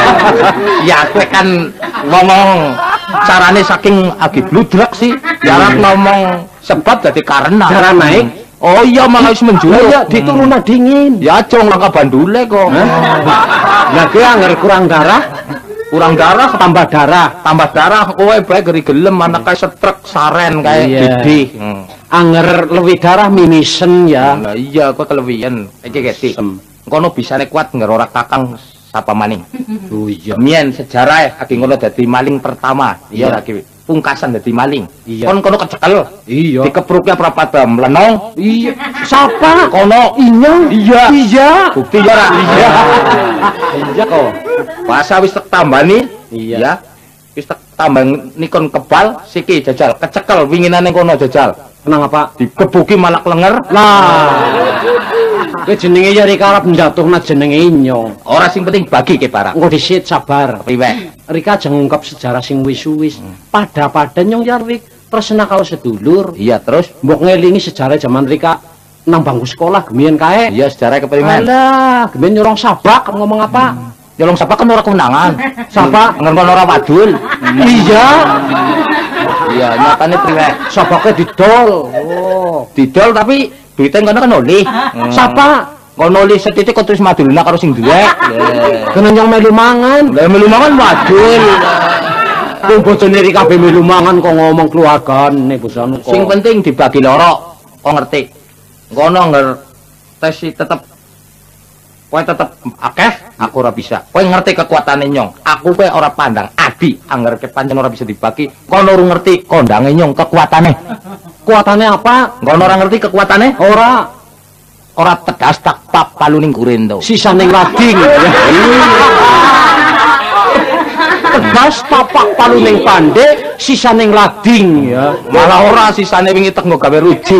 [SPEAKER 6] ya kowe kan ngomong carane saking agi bludrek sih. Jarak ngomong sebab dadi karena.
[SPEAKER 7] Cara naik?
[SPEAKER 6] Oh iya malah wis menjuluk.
[SPEAKER 7] Ya dituruna dingin.
[SPEAKER 6] Ya cong langka bandule kok.
[SPEAKER 7] Lah ki anger kurang darah,
[SPEAKER 6] Kurang darah
[SPEAKER 7] tambah darah.
[SPEAKER 6] tambah darah kowe bae geri gelem anak kae setrek saren kae
[SPEAKER 7] Iya.
[SPEAKER 6] didih.
[SPEAKER 7] Anger luwih darah mimisen ya.
[SPEAKER 6] Lah iya kowe kelewian. Iki geti. Kono bisane kuat ngerora kakang sapa maning.
[SPEAKER 7] Oh iya.
[SPEAKER 6] Mien sejarah agi ngono dadi maling pertama.
[SPEAKER 7] Iya.
[SPEAKER 6] Iya lagi pungkasan dadi maling.
[SPEAKER 7] Iya.
[SPEAKER 6] Kon kono kecekel.
[SPEAKER 7] Iya.
[SPEAKER 6] Dikepruknya prapada mlenong.
[SPEAKER 7] Iya. Sapa?
[SPEAKER 6] Kono
[SPEAKER 7] Inyong.
[SPEAKER 6] iya.
[SPEAKER 7] Iya.
[SPEAKER 6] Bukti ya ra? Iya.
[SPEAKER 7] Iya kok.
[SPEAKER 6] Masa wis tak tambani?
[SPEAKER 7] Iya.
[SPEAKER 6] Ya. Wis tak tambah nikon kebal siki jajal kecekel winginane kono jajal.
[SPEAKER 7] Kenang apa?
[SPEAKER 6] Digebuki malah klenger.
[SPEAKER 7] Lah. Kowe jenenge ya Rika arep njatuhna jenenge Nyong.
[SPEAKER 6] Ora sing penting bagi ke barang.
[SPEAKER 7] Engko disit sabar.
[SPEAKER 6] Priwe?
[SPEAKER 7] Rika aja ngungkap sejarah sing wis-wis. Pada Nyong ya Rik tresna karo sedulur.
[SPEAKER 6] Iya, terus
[SPEAKER 7] Mbok ngelingi sejarah zaman Rika nang bangku sekolah gemien kae.
[SPEAKER 6] iya sejarah keprimen.
[SPEAKER 7] Alah, gemien nyolong sabak ngomong apa?
[SPEAKER 6] Nyolong sapa kan ora kemenangan.
[SPEAKER 7] Sabak
[SPEAKER 6] Ngon ora wadul.
[SPEAKER 7] iya.
[SPEAKER 6] Iya, nyatane priwe?
[SPEAKER 7] Sabaknya didol. Oh.
[SPEAKER 6] Didol tapi duitnya ngono kan oli.
[SPEAKER 7] Sapa?
[SPEAKER 6] Ngono oli setitik kok terus madulna karo sing duwe.
[SPEAKER 7] Kena nyong melu mangan.
[SPEAKER 6] Lah melu mangan wadul.
[SPEAKER 7] Wong bojone Rika kabeh melu mangan kok ngomong keluargane bosane kok.
[SPEAKER 6] Sing penting dibagi loro. Kok ngerti? Ngono ngerti tetep kowe tetep akeh, aku ora bisa. Kowe ngerti kekuatane Nyong. Aku kowe ora pandang adi, angger pancen ora bisa dibagi. Kono ora ngerti kondange Nyong kekuatane.
[SPEAKER 7] Kuatane apa?
[SPEAKER 6] Kono ora ngerti kekuatane? Ora tegas tak pap paluning kurendo.
[SPEAKER 7] Sisaning lading. Tegas tapak paluning pande, sisaning lading ya.
[SPEAKER 6] Malah ora sisane wingi tek nggo gawe rujuk.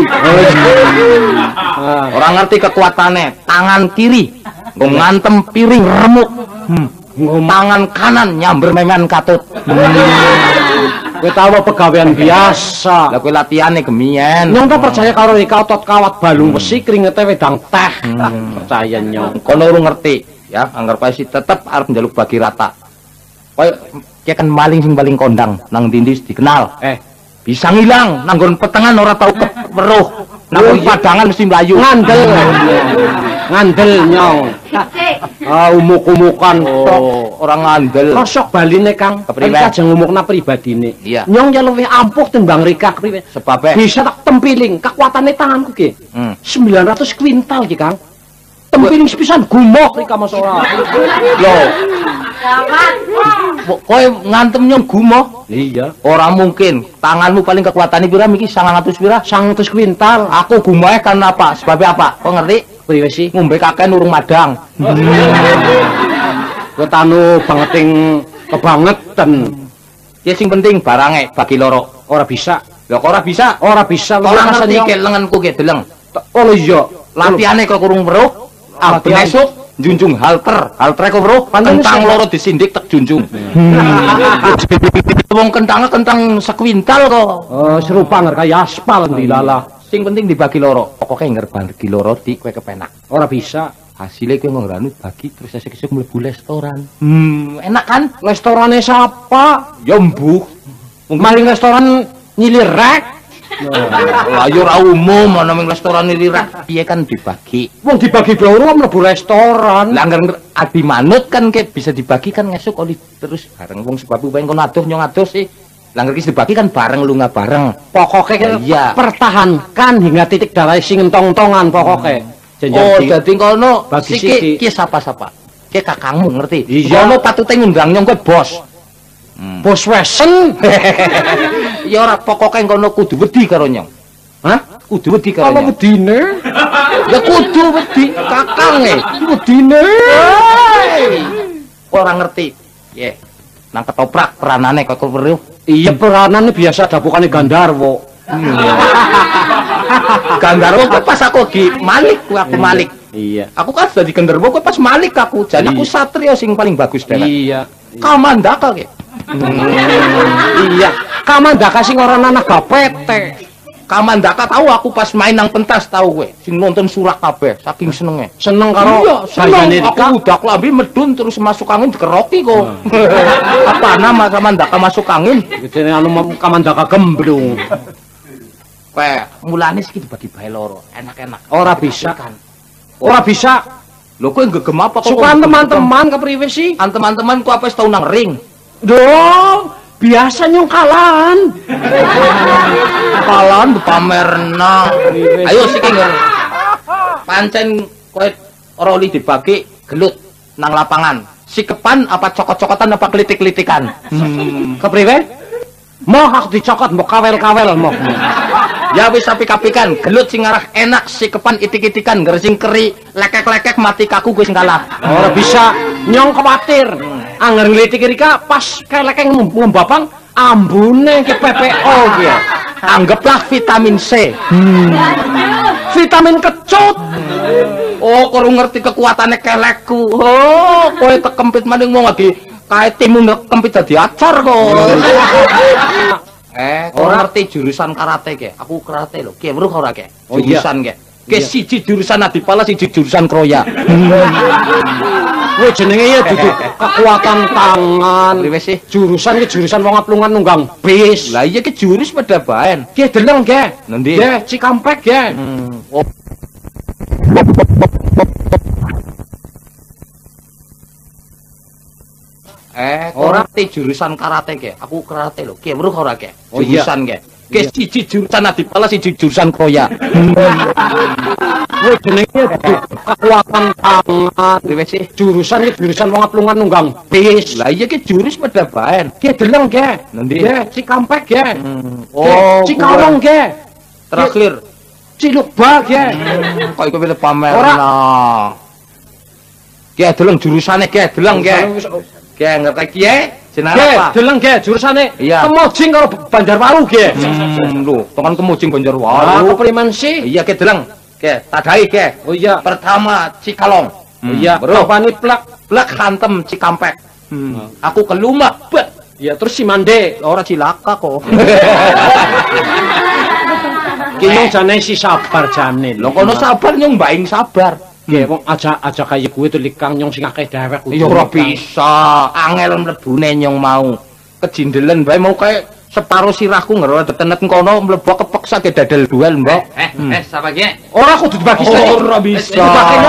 [SPEAKER 6] Ora ngerti kekuatane. Tangan kiri nggo ngantem piring remuk. Tangan kanan nyamber memen katut.
[SPEAKER 7] Kowe tahu pegawean biasa.
[SPEAKER 6] Lah kowe latihane gemien.
[SPEAKER 7] Nyong tak percaya karo Rika otot kawat balung besi kringete wedang teh. Percaya Nyong.
[SPEAKER 6] Kono urung ngerti ya, anggar pae si tetep arep njaluk bagi rata. Kowe ki kan maling sing paling kondang nang ndi dikenal. Bisa ngilang nang nggon petengan ora tau weruh. Nang padangan mesti mlayu.
[SPEAKER 7] Ngandel Nyong. Umuk-umukan tok.
[SPEAKER 6] Orang ngandel.
[SPEAKER 7] Kosok baline Kang. Rika aja ngomongna pribadine.
[SPEAKER 6] Iya.
[SPEAKER 7] Nyong ya luwih ampuh timbang Rika priwe.
[SPEAKER 6] Sebab
[SPEAKER 7] bisa tak tempiling kekuatane tanganku ki. 900 kuintal ki Kang. Tempiling sepisan gumoh Rika Mas ora.
[SPEAKER 6] Lho. Kowe ngantem Nyong gumoh?
[SPEAKER 7] Iya.
[SPEAKER 6] Ora mungkin. Tanganmu paling kekuatane pira miki 900 pira?
[SPEAKER 7] 900 kuintal.
[SPEAKER 6] Aku gumohe kan apa? Sebab apa? Kok ngerti?
[SPEAKER 7] Priwe sih?
[SPEAKER 6] Ngombe kakek urung madang.
[SPEAKER 7] Kowe tanu bangeting kebangetan.
[SPEAKER 6] Ya sing penting barange bagi loro.
[SPEAKER 7] Ora bisa.
[SPEAKER 6] Lah kok ora bisa?
[SPEAKER 7] Ora bisa.
[SPEAKER 6] Ora ngerti ke lenganku ke deleng.
[SPEAKER 7] Oh iya.
[SPEAKER 6] Latihane kok kurung weruh. Aben esuk junjung halter. Haltere kok weruh. Kentang loro disindik tek junjung. Wong kentang sekuintal kok.
[SPEAKER 7] Serupa nger kaya aspal dilala.
[SPEAKER 6] Sing penting dibagi loro. Pokoke nger bagi loro di kowe kepenak.
[SPEAKER 7] Ora bisa.
[SPEAKER 6] Hasilnya kowe ngranu bagi terus esuk-esuk mlebu restoran. Enak kan?
[SPEAKER 7] Restorane siapa?
[SPEAKER 6] Ya mbuh.
[SPEAKER 7] Maling restoran nyilirek.
[SPEAKER 6] Lah yo ora umum ana ning restoran lirak. Piye kan dibagi.
[SPEAKER 7] Wong dibagi loro mlebu restoran.
[SPEAKER 6] Lah angger adi manut kan ke bisa dibagi kan ngesuk oli terus bareng wong sebab pengen kono adoh nyong adoh sih. Lah angger ki dibagi kan bareng lunga bareng.
[SPEAKER 7] Pokoke
[SPEAKER 6] iya.
[SPEAKER 7] Pertahankan hingga titik darah sing entong-entongan pokoke.
[SPEAKER 6] Oh, dadi kono
[SPEAKER 7] bagi
[SPEAKER 6] iki sapa-sapa. Ki kakangmu ngerti.
[SPEAKER 7] Iya.
[SPEAKER 6] Kono patute ngundang nyong kowe bos.
[SPEAKER 7] Bos wesen.
[SPEAKER 6] Ya ora pokoke kono kudu wedi karo nyong. Hah? Kudu wedi karo nyong.
[SPEAKER 7] Apa wedine?
[SPEAKER 6] Ya kudu wedi kakange.
[SPEAKER 7] Wedine.
[SPEAKER 6] Ora ngerti. Ye. Nang ketoprak peranane kok weruh.
[SPEAKER 7] Iya peranane biasa dapukane Gandarwo.
[SPEAKER 6] Gandarwo pas aku gi Malik, aku Malik.
[SPEAKER 7] Iya.
[SPEAKER 6] Aku kan dadi Gandarwo kok pas Malik aku. Jadi aku satria sing paling bagus dhewe.
[SPEAKER 7] Iya.
[SPEAKER 6] Kamandaka ki.
[SPEAKER 7] Iya. Kamandaka sing ora ana gapete.
[SPEAKER 6] Kamandaka tahu aku pas main nang pentas tahu kowe. Sing nonton surak kabeh saking senenge.
[SPEAKER 7] Seneng karo
[SPEAKER 6] iya, seneng. Aku udah klambi medun terus masuk angin dikeroki kok. Apa nama Kamandaka masuk angin?
[SPEAKER 7] Jenenge anu Kamandaka gemblung.
[SPEAKER 6] Kowe mulane iki dibagi bae loro, enak-enak.
[SPEAKER 7] Ora bisa kan. Ora bisa.
[SPEAKER 6] Lho kowe gegem apa kok?
[SPEAKER 7] Sukan teman-teman kepriwe sih?
[SPEAKER 6] Teman-teman ku apa wis tau nang ring?
[SPEAKER 7] Dong, biasa nyong kalan.
[SPEAKER 6] Kalan pamerna. Ayo siki ngger. Pancen kowe ora oli dibagi gelut nang lapangan. Sikepan apa cokot-cokotan apa klitik-klitikan?
[SPEAKER 7] Kepriwe? Moh aku dicokot mbok kawel-kawel moh.
[SPEAKER 6] Ya wis apik-apikan, gelut sing arah enak sikepan itik-itikan, gersing keri, lekek-lekek mati kaku gue sing kalah.
[SPEAKER 7] Ora bisa, nyong kuwatir. Angger nglitik Rika pas kelekeng ngembapang ambune ke PPO ki ya.
[SPEAKER 6] Anggaplah vitamin C.
[SPEAKER 7] Vitamin kecut.
[SPEAKER 6] Oh, kurang ngerti kekuatannya kelekku. Oh, kowe tekempit maning wong lagi kae timu kempit dadi acar kok. Ora ngerti jurusan karate ke. Aku karate lho. Ki weruh ora ke? Jurusan ke. Ke siji jurusan Adipala, siji jurusan Kroya.
[SPEAKER 7] Kowe jenenge ya dudu kekuatan tangan.
[SPEAKER 6] Priwe sih?
[SPEAKER 7] Jurusan ki jurusan wong aplungan nunggang bis.
[SPEAKER 6] Lah iya ki jurus pada baen.
[SPEAKER 7] Ki deleng ge.
[SPEAKER 6] Nendi?
[SPEAKER 7] Ge Cikampek ge.
[SPEAKER 6] Oh. Ora ngerti jurusan karate ke. Aku karate lho. Ki weruh ora ke? Jurusan ke. Ke siji jurusan Adipala, siji jurusan Kroya.
[SPEAKER 7] Kowe jenenge ya dudu kekuatan tangan.
[SPEAKER 6] Priwe sih?
[SPEAKER 7] Jurusan ki jurusan wong aplungan nunggang bis.
[SPEAKER 6] Lah iya ki jurus pada baen.
[SPEAKER 7] Ki deleng ge.
[SPEAKER 6] Nendi?
[SPEAKER 7] Ge Cikampek ge.
[SPEAKER 6] Oh,
[SPEAKER 7] Cikalong ge.
[SPEAKER 6] terakhir.
[SPEAKER 7] Cilukba ge.
[SPEAKER 6] Kok iku pilih pamer.
[SPEAKER 7] Ora.
[SPEAKER 6] Ki deleng jurusane ki deleng ki. Ki ngerti ki jenenge
[SPEAKER 7] Ge,
[SPEAKER 6] apa?
[SPEAKER 7] deleng ge jurusane.
[SPEAKER 6] Iya.
[SPEAKER 7] Kemojing karo Banjarwaru ge.
[SPEAKER 6] Lho, tekan kemujing
[SPEAKER 7] Ah,
[SPEAKER 6] Banjarwaru.
[SPEAKER 7] kepriman sih?
[SPEAKER 6] Iya ki deleng. Ki tadai ki.
[SPEAKER 7] Oh iya.
[SPEAKER 6] Pertama Cikalong.
[SPEAKER 7] Oh iya,
[SPEAKER 6] Bro.
[SPEAKER 7] bapani plak.
[SPEAKER 6] Blek hantem Cikampek. Aku kelumah, bet.
[SPEAKER 7] Ya terus si Mande.
[SPEAKER 6] Ora cilaka kok.
[SPEAKER 7] Kino jane si sabar jane.
[SPEAKER 6] Lho kono sabar nyong mbaing sabar.
[SPEAKER 7] Nggih, wong aja kaya kuwi to likang nyong sing akeh dewek.
[SPEAKER 6] Ya ora bisa. Angel mlebune nyong mau. Kejindelen bae mau kae separo sirahku ngero tetenet kono mlebu kepeksa ge dadal duel, Mbok.
[SPEAKER 3] Sapa ki?
[SPEAKER 7] Ora kudu dibagi sih.
[SPEAKER 6] Ora bisa.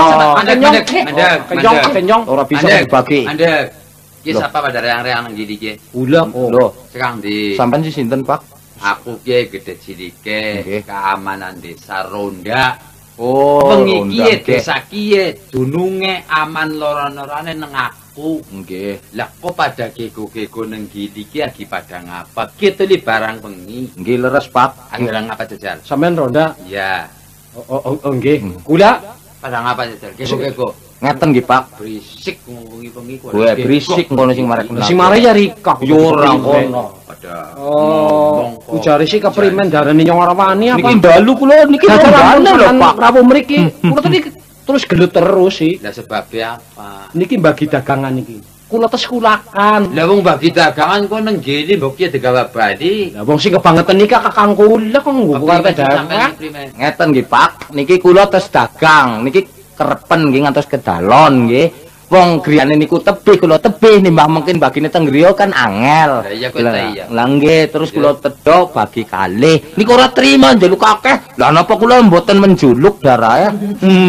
[SPEAKER 7] Kenyong.
[SPEAKER 6] Ora bisa dibagi.
[SPEAKER 3] Andek. Ki
[SPEAKER 6] Loh.
[SPEAKER 3] sapa pada reang-reang nang gini ki?
[SPEAKER 7] Ulah
[SPEAKER 6] Lho,
[SPEAKER 3] Sekarang di
[SPEAKER 6] sampean si sinten, Pak?
[SPEAKER 3] aku ki gede cilike
[SPEAKER 6] Nggih.
[SPEAKER 3] keamanan desa Ronda.
[SPEAKER 6] Oh,
[SPEAKER 3] Bengi
[SPEAKER 6] Ronda,
[SPEAKER 3] kiye
[SPEAKER 6] nggih.
[SPEAKER 3] desa kiye dununge aman loro-lorone nang aku.
[SPEAKER 6] Nggih.
[SPEAKER 3] Lah kok pada gego-gego nang gini ki lagi pada ngapa? Ki tuli barang bengi.
[SPEAKER 6] Nggih leres, Pak.
[SPEAKER 3] Angger ngapa jajal?
[SPEAKER 7] Sampean ronda.
[SPEAKER 3] Iya.
[SPEAKER 7] Oh nggih. Kula
[SPEAKER 3] Pada ngapa jajal? Gego-gego.
[SPEAKER 6] Ngeten nggih, Pak.
[SPEAKER 3] Berisik bengi-bengi kok.
[SPEAKER 6] Gue berisik ngono sing marek kenal.
[SPEAKER 7] sing mare ya Rika.
[SPEAKER 6] Yo ora kono.
[SPEAKER 3] Pada
[SPEAKER 7] Oh, ujare sih keprimen darane nyong ora wani apa?
[SPEAKER 6] Niki dalu kula niki
[SPEAKER 7] Dadane
[SPEAKER 6] lho, Pak.
[SPEAKER 7] Rabu mriki. Kula tadi terus gelut terus sih.
[SPEAKER 3] lah sebabnya apa?
[SPEAKER 7] Niki bagi dagangan niki. Kula tes kulakan.
[SPEAKER 3] Lah wong bagi dagangan kok nang gini mbok ki digawa bali.
[SPEAKER 7] Lah wong sing kebangetan nika kakang kula kok nggo kate dagangan.
[SPEAKER 6] Ngeten nggih, Pak. Niki kula tes dagang. Niki kerepen nggih ngantos ke dalon nggih. Wong griyane niku tebih kula tebih nimbang mungkin bagine teng griya kan angel.
[SPEAKER 3] Lah iya kok ta iya.
[SPEAKER 6] Lah nggih terus kula tedhok bagi kalih. Niku ora trima njaluk akeh. Lah napa kula mboten menjuluk darah ya?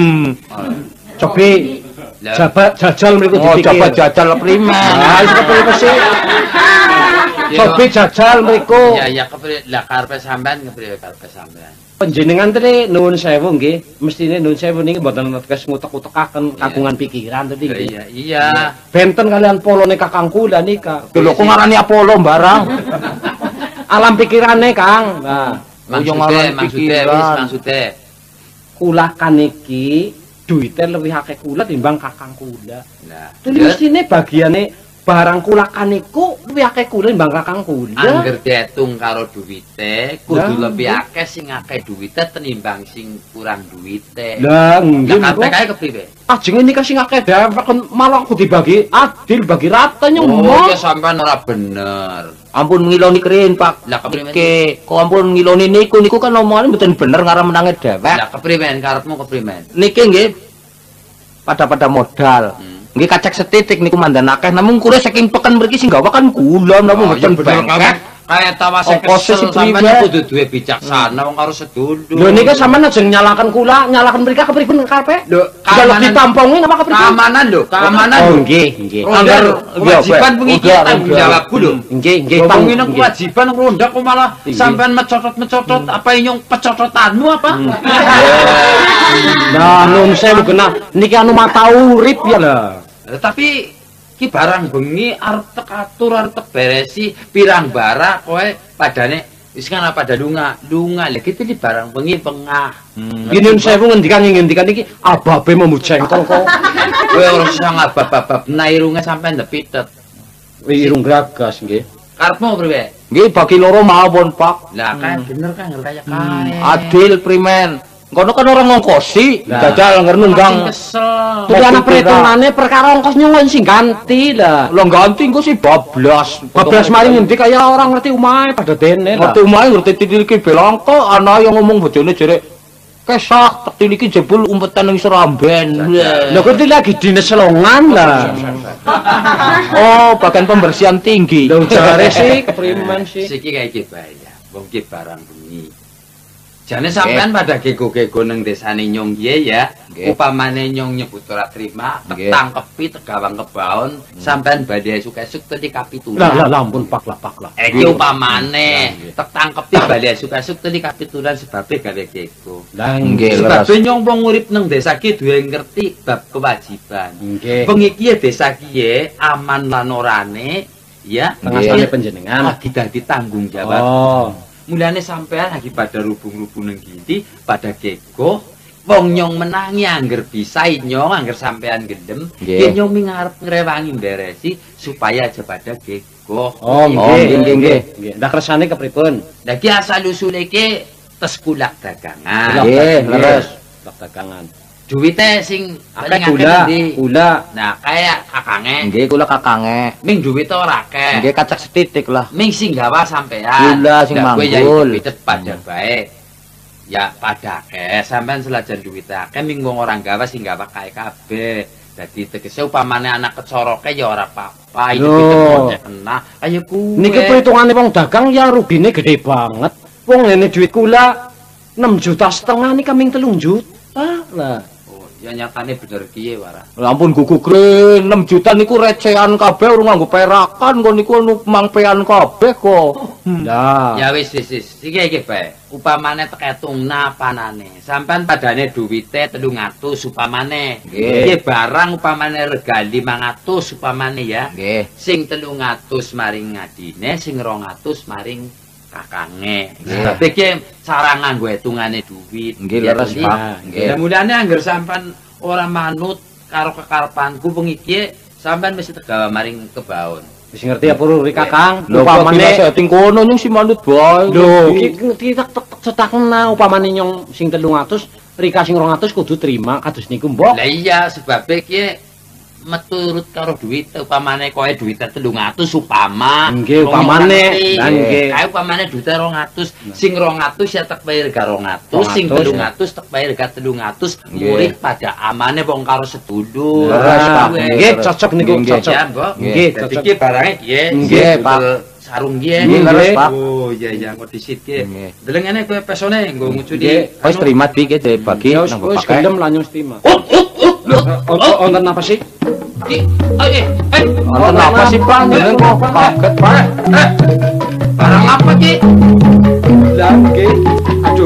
[SPEAKER 7] Cobi
[SPEAKER 3] Lah.
[SPEAKER 7] jabat jajal mriku
[SPEAKER 6] Oh,
[SPEAKER 7] dipikir.
[SPEAKER 6] coba jajal primen.
[SPEAKER 7] Ah, iso kepriwe sih? Cobi jajal mriku.
[SPEAKER 3] Ya ya kepriwe lah karepe sampean kepriwe karepe sampean.
[SPEAKER 7] Panjenengan tadi nuwun sewu nggih, mestine nuwun sewu niki mboten netes ngutek-utekaken kagungan pikiran tadi
[SPEAKER 3] Lah
[SPEAKER 7] nggih.
[SPEAKER 3] iya iya.
[SPEAKER 7] Benten kalian polone Kakang kula nika.
[SPEAKER 6] Lho kok ngarani Apollo barang?
[SPEAKER 7] Alam pikirane, Kang. Nah,
[SPEAKER 3] Maksudnya
[SPEAKER 7] kula kan niki duite luwih akeh kula timbang Kakang kula.
[SPEAKER 3] Nah,
[SPEAKER 7] Tuli mestine bagiane barang kula kan niku luwih akeh kula timbang Kakang kula.
[SPEAKER 3] angger diitung karo duwite kudu
[SPEAKER 7] Lah,
[SPEAKER 3] lebih akeh sing akeh duwite tenimbang sing kurang duwite.
[SPEAKER 7] Lah, nggih
[SPEAKER 3] Lah karepe
[SPEAKER 7] niku.
[SPEAKER 3] kae kepriwe?
[SPEAKER 7] Ajenge nika sing akeh dewek kan malah kudu dibagi adil bagi rata
[SPEAKER 3] Oh,
[SPEAKER 7] nyemok.
[SPEAKER 3] ya sampean ora bener.
[SPEAKER 6] Ampun ngiloni kerin, Pak.
[SPEAKER 3] Lah kepriwe?
[SPEAKER 6] Niki, kok ampun ngiloni niku kan omongane mboten bener ngarep menange dewek.
[SPEAKER 3] Lah kepriwe karepmu kepriwe?
[SPEAKER 6] Niki nggih pada modal. Nggih kacek setitik niku mandan akeh namun kula saking peken mriki sing gawa kan kula namun mboten bengkek.
[SPEAKER 3] Kayak tawase
[SPEAKER 6] Ongkosnya
[SPEAKER 3] kesel
[SPEAKER 6] si priwe.
[SPEAKER 3] sampean kudu duwe bijaksana wong karo sedulur.
[SPEAKER 7] Lho nika sampean aja nyalakan kula, nyalakan mereka kepripun karepe?
[SPEAKER 3] Lho,
[SPEAKER 7] Kalau
[SPEAKER 3] keamanan-
[SPEAKER 7] ditampungin apa kepripun?
[SPEAKER 3] Keamanan lho, keamanan.
[SPEAKER 7] Oh
[SPEAKER 3] lho.
[SPEAKER 7] nggih, nggih.
[SPEAKER 3] Ronda lho, kewajiban pengikut tanggung jawabku lho.
[SPEAKER 7] Nggih, nggih.
[SPEAKER 3] Ngomongin
[SPEAKER 7] Nggih.
[SPEAKER 3] kewajiban ronda kok malah sampean mecotot-mecotot apa inyong pecototanmu apa?
[SPEAKER 7] Nah, nun sewu genah niki anu mata urip ya lah.
[SPEAKER 3] Tapi ki barang bengi arep tek atur arep tek beresi pirang bara kowe padane wis kan pada lunga lha gitu di barang bengi pengah.
[SPEAKER 7] Gini nun sewu ngendikan iki ababe memujengkol kok.
[SPEAKER 3] Kowe ora usah ngabab-babab nairunge sampean ndepitet.
[SPEAKER 7] Irung gragas nggih.
[SPEAKER 3] Karepmu priwe?
[SPEAKER 6] Nggih bagi loro mawon, Pak.
[SPEAKER 3] Lah kan bener kan kayak kae.
[SPEAKER 6] Adil primen. Kono kan orang ngongkosi, jajal nger nunggang.
[SPEAKER 7] Kesel. Jadi ana perhitungane perkara ongkosnya kok sing ganti lah.
[SPEAKER 6] Lah ganti engko si bablas.
[SPEAKER 7] Bablas maling ngendi kaya orang ngerti omahe pada dene lah.
[SPEAKER 6] Ngerti omahe ngerti tiliki belangko ana yang ngomong bojone jere kesah tak tiliki jebul umpetan ning seramben.
[SPEAKER 7] Lho kok lagi dinas selongan lah.
[SPEAKER 6] Oh, bagian pembersihan tinggi.
[SPEAKER 7] Lho jare sih kepriman sih.
[SPEAKER 3] Siki kaya iki bae ya. Wong ki barang bengi. Jane sampean pada gego-gego nang desane Nyong kiye ya. Upamane Nyong nyebut ora trima, tangkepi tegawang kebaon, sampean badhe esuk-esuk tadi kapitulan.
[SPEAKER 7] Lah ampun pak lah.
[SPEAKER 3] Iki upamane tangkepi badhe esuk-esuk tadi kapitulan sebabe gawe gego.
[SPEAKER 7] Lah nggih
[SPEAKER 3] Sebab Nyong wong urip nang desa ki duwe ngerti bab kewajiban.
[SPEAKER 7] Nggih.
[SPEAKER 3] Bengi kiye desa kiye aman lan orane ya,
[SPEAKER 7] tengah panjenengan
[SPEAKER 3] lagi dadi tanggung jawab.
[SPEAKER 7] Oh.
[SPEAKER 3] Mulane sampean lagi pada rubung-rubung nang gindi, pada gego, wong Nyong menangi angger bisa Nyong angger sampean gendem, yen Nyong ngarep ngrewangi beresi supaya aja pada gego.
[SPEAKER 7] Oh, nggih. Ndak kersane kepripun?
[SPEAKER 3] Lah ki asal usule ki tes kulak dagangan.
[SPEAKER 7] Nggih, leres. Kulak dagangan.
[SPEAKER 3] Duwite sing
[SPEAKER 7] akeh gula.
[SPEAKER 3] Nah, kaya kakange.
[SPEAKER 6] Nggih, kula kakange.
[SPEAKER 3] Ming duwite ora akeh.
[SPEAKER 6] Nggih, kacak setitik lah.
[SPEAKER 3] Ming sing gawa sampean.
[SPEAKER 6] Gula sing manggul.
[SPEAKER 3] Duwite pada bae. Ya pada akeh, sampean selajan duwite akeh ming wong orang gawa sing gawa kae kabeh. Dadi tegese upamane anak kecoroke ya ora apa-apa, itu kita kena. Kaya kuwe.
[SPEAKER 7] Niki perhitungane wong dagang ya rugine gede banget. Wong ngene duit kula 6,5 juta niki kaming 3 juta. Lah.
[SPEAKER 3] Ya nyatane bener kiye wara.
[SPEAKER 6] Lah ampun gugukre 6 juta niku recehan kabeh urung nganggo perakan kok niku mangpean kabeh kok.
[SPEAKER 3] Lah. Ya wis. Iki bae. Upamane teketung napanane. Sampean padane duwite 300 upamane. Nggih barang upamane rega 500 upamane ya.
[SPEAKER 6] Nggih.
[SPEAKER 3] Sing 300 maring ngadine, sing 200 maring kakange. Tapi ki cara nganggo hitungane duwit.
[SPEAKER 6] Nggih leres, Pak.
[SPEAKER 3] Nggih. Mulane angger sampean ora manut karo kekarepanku bengi iki, sampean mesti tegawa maring kebaon.
[SPEAKER 7] Wis ngerti ya puru ri Kakang.
[SPEAKER 6] Upamane setting kono nyung si manut bae.
[SPEAKER 7] Lho, iki cetakna upamane nyong sing 300, Rika sing 200 kudu trima kados niku mbok.
[SPEAKER 3] Lah iya sebabe ki meturut karo duit upamane kowe duwite 300 upama
[SPEAKER 7] nggih upamane
[SPEAKER 3] lah nggih kae upamane duwite 200 sing 200 ya tek bayar ga 200 sing 300 tek bayar ga 300 murid pada amane wong karo sedulur
[SPEAKER 7] nggih cocok niku cocok
[SPEAKER 3] nggih dadi iki barange
[SPEAKER 6] nggih Pak
[SPEAKER 3] sarung nggih
[SPEAKER 6] leres Pak
[SPEAKER 3] oh iya ngono disit ki delengane kowe pesone nggo ngucudi
[SPEAKER 6] wis terima iki dibagi
[SPEAKER 7] nang bapak gendem lanyung stima Onten apa sih?
[SPEAKER 6] Onten apa sih Pak? Jeneng kok kaget Pak.
[SPEAKER 3] Barang apa ki?
[SPEAKER 7] Lah nggih. Aduh.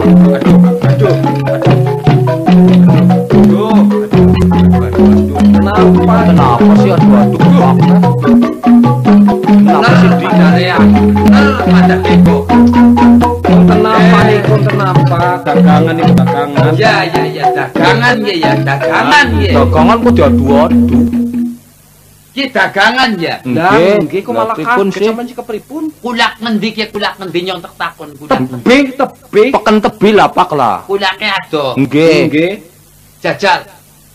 [SPEAKER 6] Kenapa sih aduh Pak?
[SPEAKER 3] Kenapa sih dikarea? Ada bego.
[SPEAKER 7] Kenapa niku kenapa dagangan niku dagangan?
[SPEAKER 3] Ya dagangan ya dagangan ya.
[SPEAKER 6] Dagangan kok diadu-adu.
[SPEAKER 3] Ki dagangan ya.
[SPEAKER 7] Nggih kok malah kaget sampean sik kepripun?
[SPEAKER 3] Kulak ngendi ki kulak ngendi nyong tek takon kulak.
[SPEAKER 7] Tebih.
[SPEAKER 6] Peken tebi lah Pak lah.
[SPEAKER 3] Kulake ado.
[SPEAKER 6] Nggih.
[SPEAKER 3] Jajal.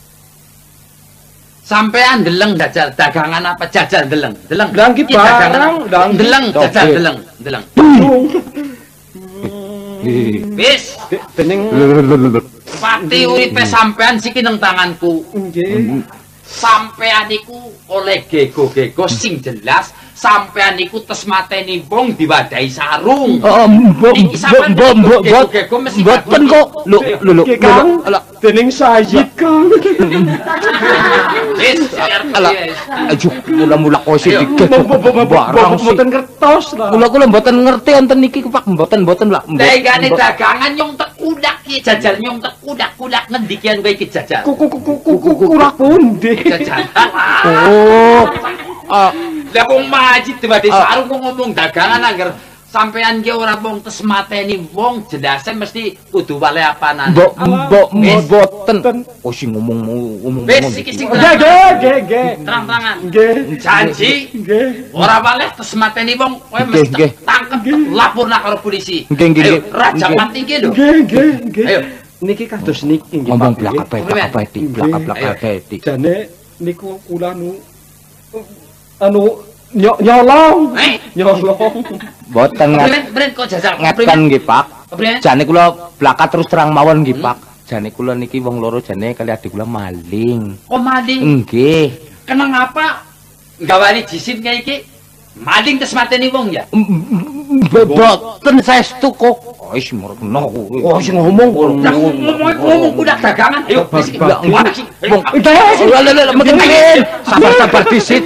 [SPEAKER 3] Sampean deleng jajal dagangan apa jajal deleng.
[SPEAKER 7] Lah ki barang
[SPEAKER 3] deleng jajal deleng. Wis
[SPEAKER 7] dening
[SPEAKER 3] pati uripe sampean siki nang tanganku.
[SPEAKER 7] Nggih.
[SPEAKER 3] Sampean iku oleh gego-gego sing jelas sampean iku tes mateni wong diwadahi sarung. Iki sampean gego-gego mesti
[SPEAKER 6] mboten kok. Lho
[SPEAKER 7] Kang dening Sayyid Kang.
[SPEAKER 3] Wis
[SPEAKER 6] aja mula-mula kok sih barang sih.
[SPEAKER 7] Mboten kertos lah.
[SPEAKER 6] Kula mboten ngerti enten iki Pak, mboten lah.
[SPEAKER 3] Dengane dagangan nyong tekudak ki jajal nyong tekudak ngendi kian kowe iki jajal.
[SPEAKER 7] Kurang pundi.
[SPEAKER 3] Jajal.
[SPEAKER 6] Oh.
[SPEAKER 3] Lah wong majid diwadahi sarung kok ngomong dagangan angger sampean ki ora mung tes mateni wong jelase mesti kudu wale apanan.
[SPEAKER 6] Mboten. Oh sing ngomong.
[SPEAKER 3] Wis iki sing
[SPEAKER 7] Nggih.
[SPEAKER 3] terang-terangan.
[SPEAKER 7] Nggih.
[SPEAKER 3] Janji.
[SPEAKER 7] Nggih.
[SPEAKER 3] Ora waleh tes mateni wong kowe mesti tangkep laporna karo polisi.
[SPEAKER 6] Nggih.
[SPEAKER 3] Raja mati iki lho.
[SPEAKER 7] Nggih.
[SPEAKER 3] Ayo
[SPEAKER 7] niki kados niki nggih
[SPEAKER 6] Ngomong
[SPEAKER 7] Pak.
[SPEAKER 6] blak-blak
[SPEAKER 7] Jane niku kula nyolong. Nyolong.
[SPEAKER 6] Mboten
[SPEAKER 3] Bren kok jajal.
[SPEAKER 6] ngeten nggih, Pak.
[SPEAKER 3] Kepriye?
[SPEAKER 6] Jane kula blakat terus terang mawon nggih, Pak. Jane kula niki wong loro jane kali adik kula maling.
[SPEAKER 3] Kok maling?
[SPEAKER 6] Nggih.
[SPEAKER 3] Kenang apa? Gawani jisim kayak iki. Maling terus mateni wong ya.
[SPEAKER 6] Mboten saestu kok. Wis merno kuwi. Oh sing ngomong
[SPEAKER 3] Ngomong udah dagangan. Ayo wis
[SPEAKER 6] sabar disit.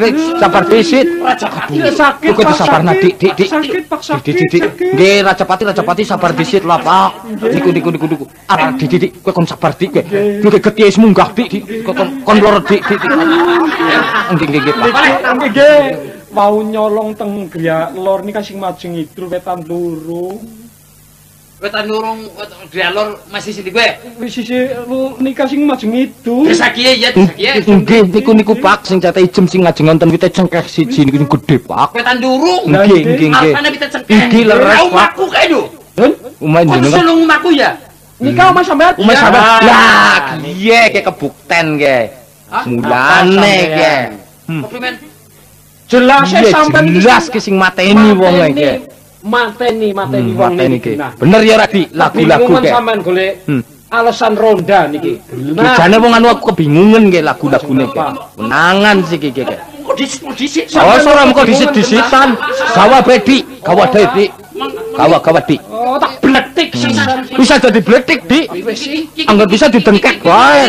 [SPEAKER 7] Sakit.
[SPEAKER 6] Kok sabarna dik.
[SPEAKER 7] Sakit Pak sakit.
[SPEAKER 6] Dik. Nggih Rajapati sabar disit lah, Pak. Niku. Ah, Dik, kowe kon sabar dik kowe. Kowe getihe wis munggah dik. Kon loro dik. Nggih, Pak.
[SPEAKER 7] Nggih. Mau nyolong teng griya lor nika sing majeng idul wetan loro.
[SPEAKER 3] Wetan lurung dialor masih sini gue.
[SPEAKER 7] Wis sisi nika sing majeng idul.
[SPEAKER 3] Desa kiye ya, desa kiye.
[SPEAKER 6] Nggih, niku Pak sing cete ijem sing ngajeng wonten wite cengkeh siji niku sing gedhe, Pak.
[SPEAKER 3] Wetan lurung.
[SPEAKER 6] Nggih.
[SPEAKER 3] Alpane kita cengkeh.
[SPEAKER 6] Nggih, leres, Pak.
[SPEAKER 3] Omahku kae lho.
[SPEAKER 6] Umahe
[SPEAKER 3] Kok
[SPEAKER 6] jenengan.
[SPEAKER 3] sulung omahku ya?
[SPEAKER 7] Nika omah sampean.
[SPEAKER 6] Umeh sampean. Lah, piye ke kebukten ke? Mulane ke.
[SPEAKER 3] Komplimen.
[SPEAKER 7] Jelas sampean
[SPEAKER 6] jelas ki sing mateni wong iki.
[SPEAKER 7] Mateni wong
[SPEAKER 6] niki. Bener ya Radi, lagu-lagu ke.
[SPEAKER 7] Sampean golek alasan ronda niki.
[SPEAKER 6] Jane wong anu aku kebingungan ke lagu-lagune ke. Menangan sih ki ke.
[SPEAKER 3] Kok disik.
[SPEAKER 6] Oh, ora mengko disit-disitan. Gawa Dik. Gawa Dik.
[SPEAKER 7] Oh, tak bletik sisan.
[SPEAKER 6] Bisa jadi bletik, Dik. Anggap bisa didengkek wae.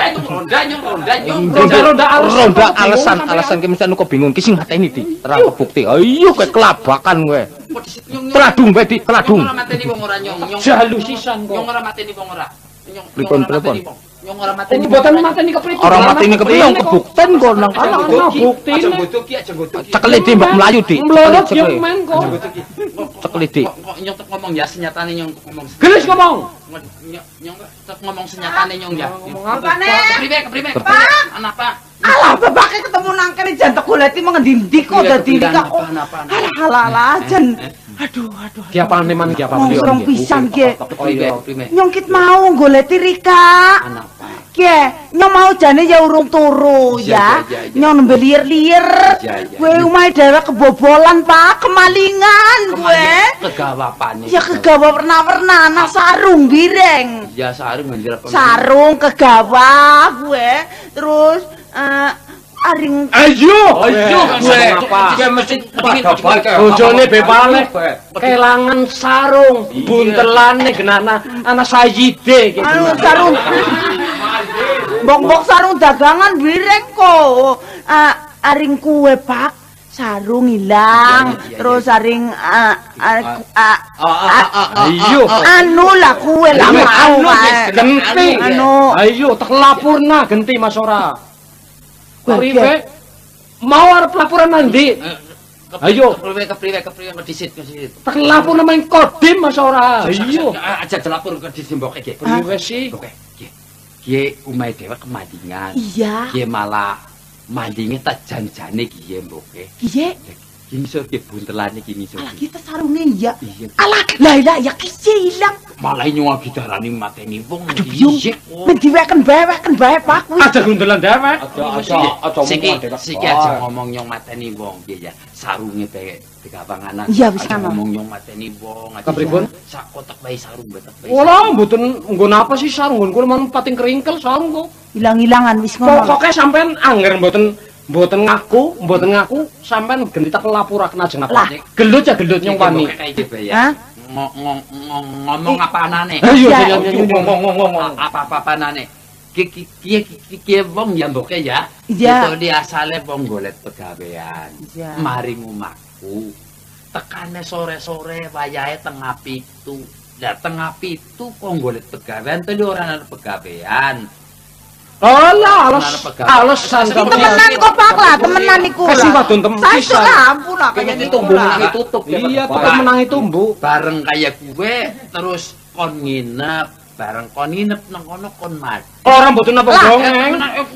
[SPEAKER 6] Ronda alasan ki mesti kok bingung ki sing mateni Dik. Terang kebukti. Ayo kowe kelabakan kowe. Teladung bae Dik, teladung.
[SPEAKER 3] Ora mateni wong ora nyong.
[SPEAKER 7] Jalu sisan kok.
[SPEAKER 3] Nyong ora mateni wong ora.
[SPEAKER 6] Pripun?
[SPEAKER 3] Nyong ora mateni.
[SPEAKER 7] Mboten mateni kepriye?
[SPEAKER 6] Orang mateni kepriye kebukten kok nang
[SPEAKER 7] bukti.
[SPEAKER 3] Aja godhog ki, aja godhog ki.
[SPEAKER 6] cekel Dik mbok mlayu Dik.
[SPEAKER 7] Mlorot ya men kok.
[SPEAKER 6] Cekel Dik.
[SPEAKER 3] Kok nyong tek ngomong ya senyatane nyong ngomong.
[SPEAKER 7] Gelis ngomong.
[SPEAKER 3] Nyong tek ngomong senyatane nyong ya.
[SPEAKER 8] Apane?
[SPEAKER 3] Kepriye? Anak Pak.
[SPEAKER 8] Alah bapake ketemu nang kene jan tak goleti mengendi kok dadi nikah kok. Alah jan. Aduh.
[SPEAKER 7] Ki apane man ki apa beliau?
[SPEAKER 8] Wong pisan ki.
[SPEAKER 3] Kepriye?
[SPEAKER 8] Nyongkit mau goleti Rika.
[SPEAKER 3] Anak Pak.
[SPEAKER 8] Ki, nyong mau jane ya urung turu ya. Nyong nembe liir-liir. Kowe omahe dhewe kebobolan, Pak, kemalingan kowe.
[SPEAKER 3] Kegawapane.
[SPEAKER 8] Ya kegawa warna-warna ana sarung bireng.
[SPEAKER 3] Ya sarung ngira
[SPEAKER 8] Sarung kegawa kowe. Terus aring
[SPEAKER 7] Ayo
[SPEAKER 3] gue. Jika mesti
[SPEAKER 7] bojone bebale kelangan sarung buntelane genana ana sayide
[SPEAKER 8] anu sarung bok sarung dagangan bireng kok. Aring kue Pak sarung hilang terus aring
[SPEAKER 7] ayo
[SPEAKER 8] anu lah kue lah mau
[SPEAKER 7] genti
[SPEAKER 8] anu
[SPEAKER 7] ayo tak lapurna genti Mas ora priwe mau arep laporan mandi ayo
[SPEAKER 3] kepriwe disit.
[SPEAKER 7] tak lapor nang Kodim Mas ora ayo
[SPEAKER 3] Aja dilapor ke disimboke iki.
[SPEAKER 7] priwe sih
[SPEAKER 3] Kiye umahe dhewe kemalingan.
[SPEAKER 8] iya
[SPEAKER 3] Kiye malah mandinge tak janjane kiye mboke.
[SPEAKER 8] kiye
[SPEAKER 3] Ki ngisor ki buntelane ki ngisor.
[SPEAKER 8] alah kita sarungnya iya
[SPEAKER 3] Iya.
[SPEAKER 8] alah lah ya kiye hilang
[SPEAKER 3] Malah nyuwun didarani mateni wong.
[SPEAKER 8] aduh biung mendiweken bae Pak kuwi
[SPEAKER 7] ada gundelan dewek
[SPEAKER 3] Siki aja ngomong nyong mateni wong piye ya. Sarunge bae digawanganan.
[SPEAKER 8] Iya, wis
[SPEAKER 3] Aja
[SPEAKER 8] kana.
[SPEAKER 3] ngomong nyong mateni wong.
[SPEAKER 7] Kepripun?
[SPEAKER 3] Sak kotak bae sarung betek bae.
[SPEAKER 7] Wala mboten nggon apa sih sarung nggon kula men pating keringkel sarung kok
[SPEAKER 8] hilang-hilangan wis ngomong
[SPEAKER 7] pokoke sampean angger mboten ngaku sampean genti tak lapuraken ajeng napa gelut ya gelut nyong wani
[SPEAKER 8] Hah?
[SPEAKER 3] Ngomong apa anane?
[SPEAKER 7] ayo
[SPEAKER 8] Iya.
[SPEAKER 7] ngomong
[SPEAKER 3] Apa-apa anane? Kiye wong ya mboke ya.
[SPEAKER 8] Iya.
[SPEAKER 3] Itu dia asale wong golet pegawean.
[SPEAKER 8] Iya.
[SPEAKER 3] Maring omahku. Tekane sore-sore wayahe tengah pitu. Lah tengah pitu kok golet pegawean tadi ora ana pegawean.
[SPEAKER 7] Alah, alasan
[SPEAKER 8] temenan kok Pak lah, temenan iku.
[SPEAKER 7] Kasih wadon tempisan.
[SPEAKER 8] Saya ampun lah
[SPEAKER 3] Kayaknya
[SPEAKER 8] kayaknya
[SPEAKER 3] tumbuh menangi tutup.
[SPEAKER 7] Iya, tetep menangi tumbuh.
[SPEAKER 3] Bareng kaya gue terus kon nginep, bareng kon nginep nang kono kon mati.
[SPEAKER 7] Orang mboten napa dongeng.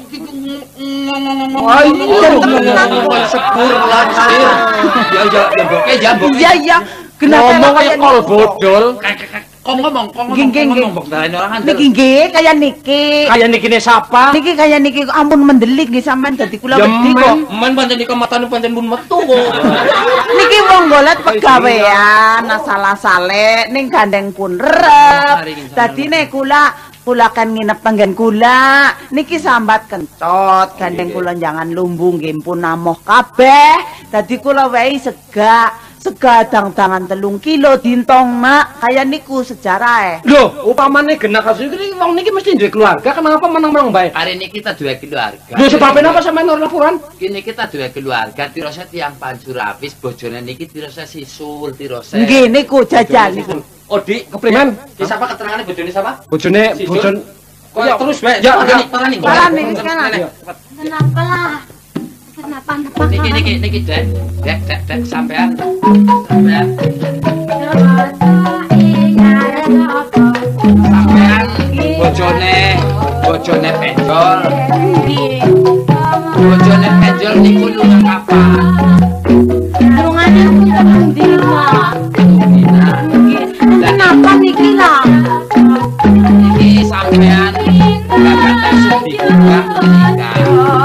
[SPEAKER 3] Sepur langsir. Ya boke.
[SPEAKER 8] Iya,
[SPEAKER 7] Ngomong kaya kol bodol.
[SPEAKER 3] Kok ngomong mbok darani orang andel.
[SPEAKER 8] Niki nggih kaya niki.
[SPEAKER 7] Kaya niki ne sapa?
[SPEAKER 8] Niki kaya niki ampun mendelik nggih sampean dadi kula wedi kok.
[SPEAKER 3] Men pancen nika matane pancen pun metu kok.
[SPEAKER 8] Niki wong golet pegawean asal sale ning gandeng pun rep. Dadine kula kan nginep panggen kula. Niki sambat kencot gandeng kula jangan lumbung nggih pun namoh kabeh. Dadi kula wehi sega dang-dangan 3 kilo dintong mak kaya niku sejarahe.
[SPEAKER 7] Lho, upamane genah kasus iki wong niki mesti duwe keluarga, kenapa menang-menang bae?
[SPEAKER 3] Hari ini kita duwe keluarga.
[SPEAKER 7] Lho sebabnya apa sampean ora laporan?
[SPEAKER 3] Kini kita duwe keluarga, tirose tiang Panjurapis, bojone niki tirose sisul, tirose.
[SPEAKER 8] Nggih niku jajal niku.
[SPEAKER 3] Oh, Dik,
[SPEAKER 7] Keprimen?
[SPEAKER 3] Ki sapa keterangane bojone sapa?
[SPEAKER 7] Bojone
[SPEAKER 3] Kok terus bae.
[SPEAKER 7] Ya,
[SPEAKER 3] parani.
[SPEAKER 1] Kenapa lah? Kenapa?
[SPEAKER 3] Niki, Dek, sampean. Sampean bojone penjol. Bojone penjol niku lunga kapan?
[SPEAKER 1] Lungane pun dina. Kenapa niki lah?
[SPEAKER 3] Niki sampean gak kata dibuka menikah.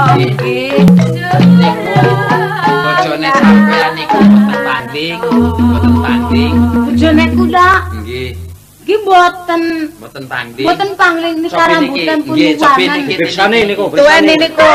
[SPEAKER 3] Bojone sampean niku boten tanding.
[SPEAKER 1] Bojone kula
[SPEAKER 3] Nggih.
[SPEAKER 1] nggih mboten
[SPEAKER 3] Tanding.
[SPEAKER 1] Mboten pangling nika rambutan pun
[SPEAKER 3] Nggih, sopi
[SPEAKER 1] warna.
[SPEAKER 3] niki
[SPEAKER 7] Birsane niku.
[SPEAKER 8] Tuwene niku.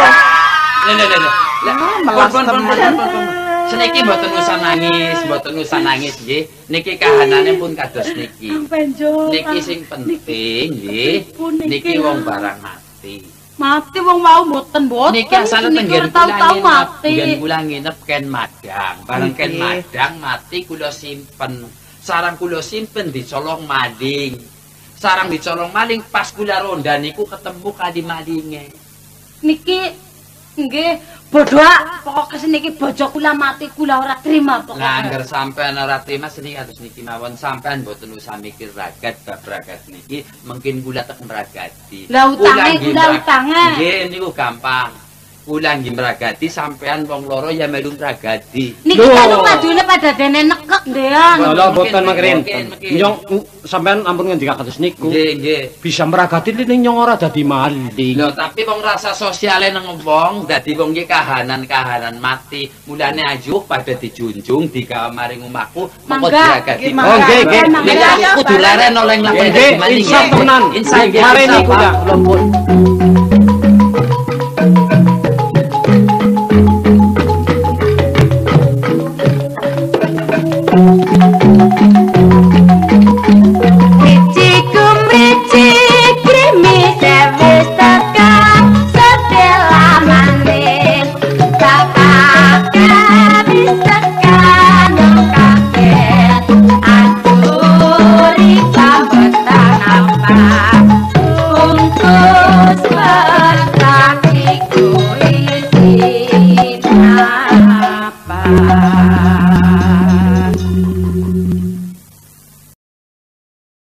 [SPEAKER 3] Melas temen. Seniki mboten usah nangis nggih. Niki kahanane pun kados niki. Niki sing penting nggih. Niki wong barang mati.
[SPEAKER 1] Mati wong mau mboten.
[SPEAKER 3] Niki asale tenggen
[SPEAKER 1] tau mati.
[SPEAKER 3] Tenggen kula nginep ken Madang. Bareng ken Madang mati kula simpen. Sarang kula simpen dicolong maling. Sarang dicolong maling pas kula ronda niku ketemu kadi malinge.
[SPEAKER 1] Niki nggih bodhoak pokoke seniki bojo kula mati kula ora trima pokoke.
[SPEAKER 3] Nah, angger sampean ora trima seniki kados niki mawon sampean mboten usah mikir ragat bab ragat niki, mungkin kula teken ragati.
[SPEAKER 1] Lah utange kula utange.
[SPEAKER 3] Nggih niku gampang. Kula nggih mragati sampean wong loro ya melu mragati.
[SPEAKER 1] Niki kan madune pada dene nekek ndean.
[SPEAKER 7] Lho boten mangkerin. Nyong sampean ampun ngendika kados niku.
[SPEAKER 3] Nggih.
[SPEAKER 7] Bisa meragati ning nyong ora dadi maling.
[SPEAKER 3] Lho tapi wong rasa sosiale nang wong dadi wong iki kahanan mati. Mulane ayo pada dijunjung digawe maring omahku mongko diragati.
[SPEAKER 7] Oh nggih.
[SPEAKER 3] Nek aku kudu leren oleh nglakoni maling.
[SPEAKER 7] Insaf tenan.
[SPEAKER 3] Insaf.
[SPEAKER 7] Mari niku ya.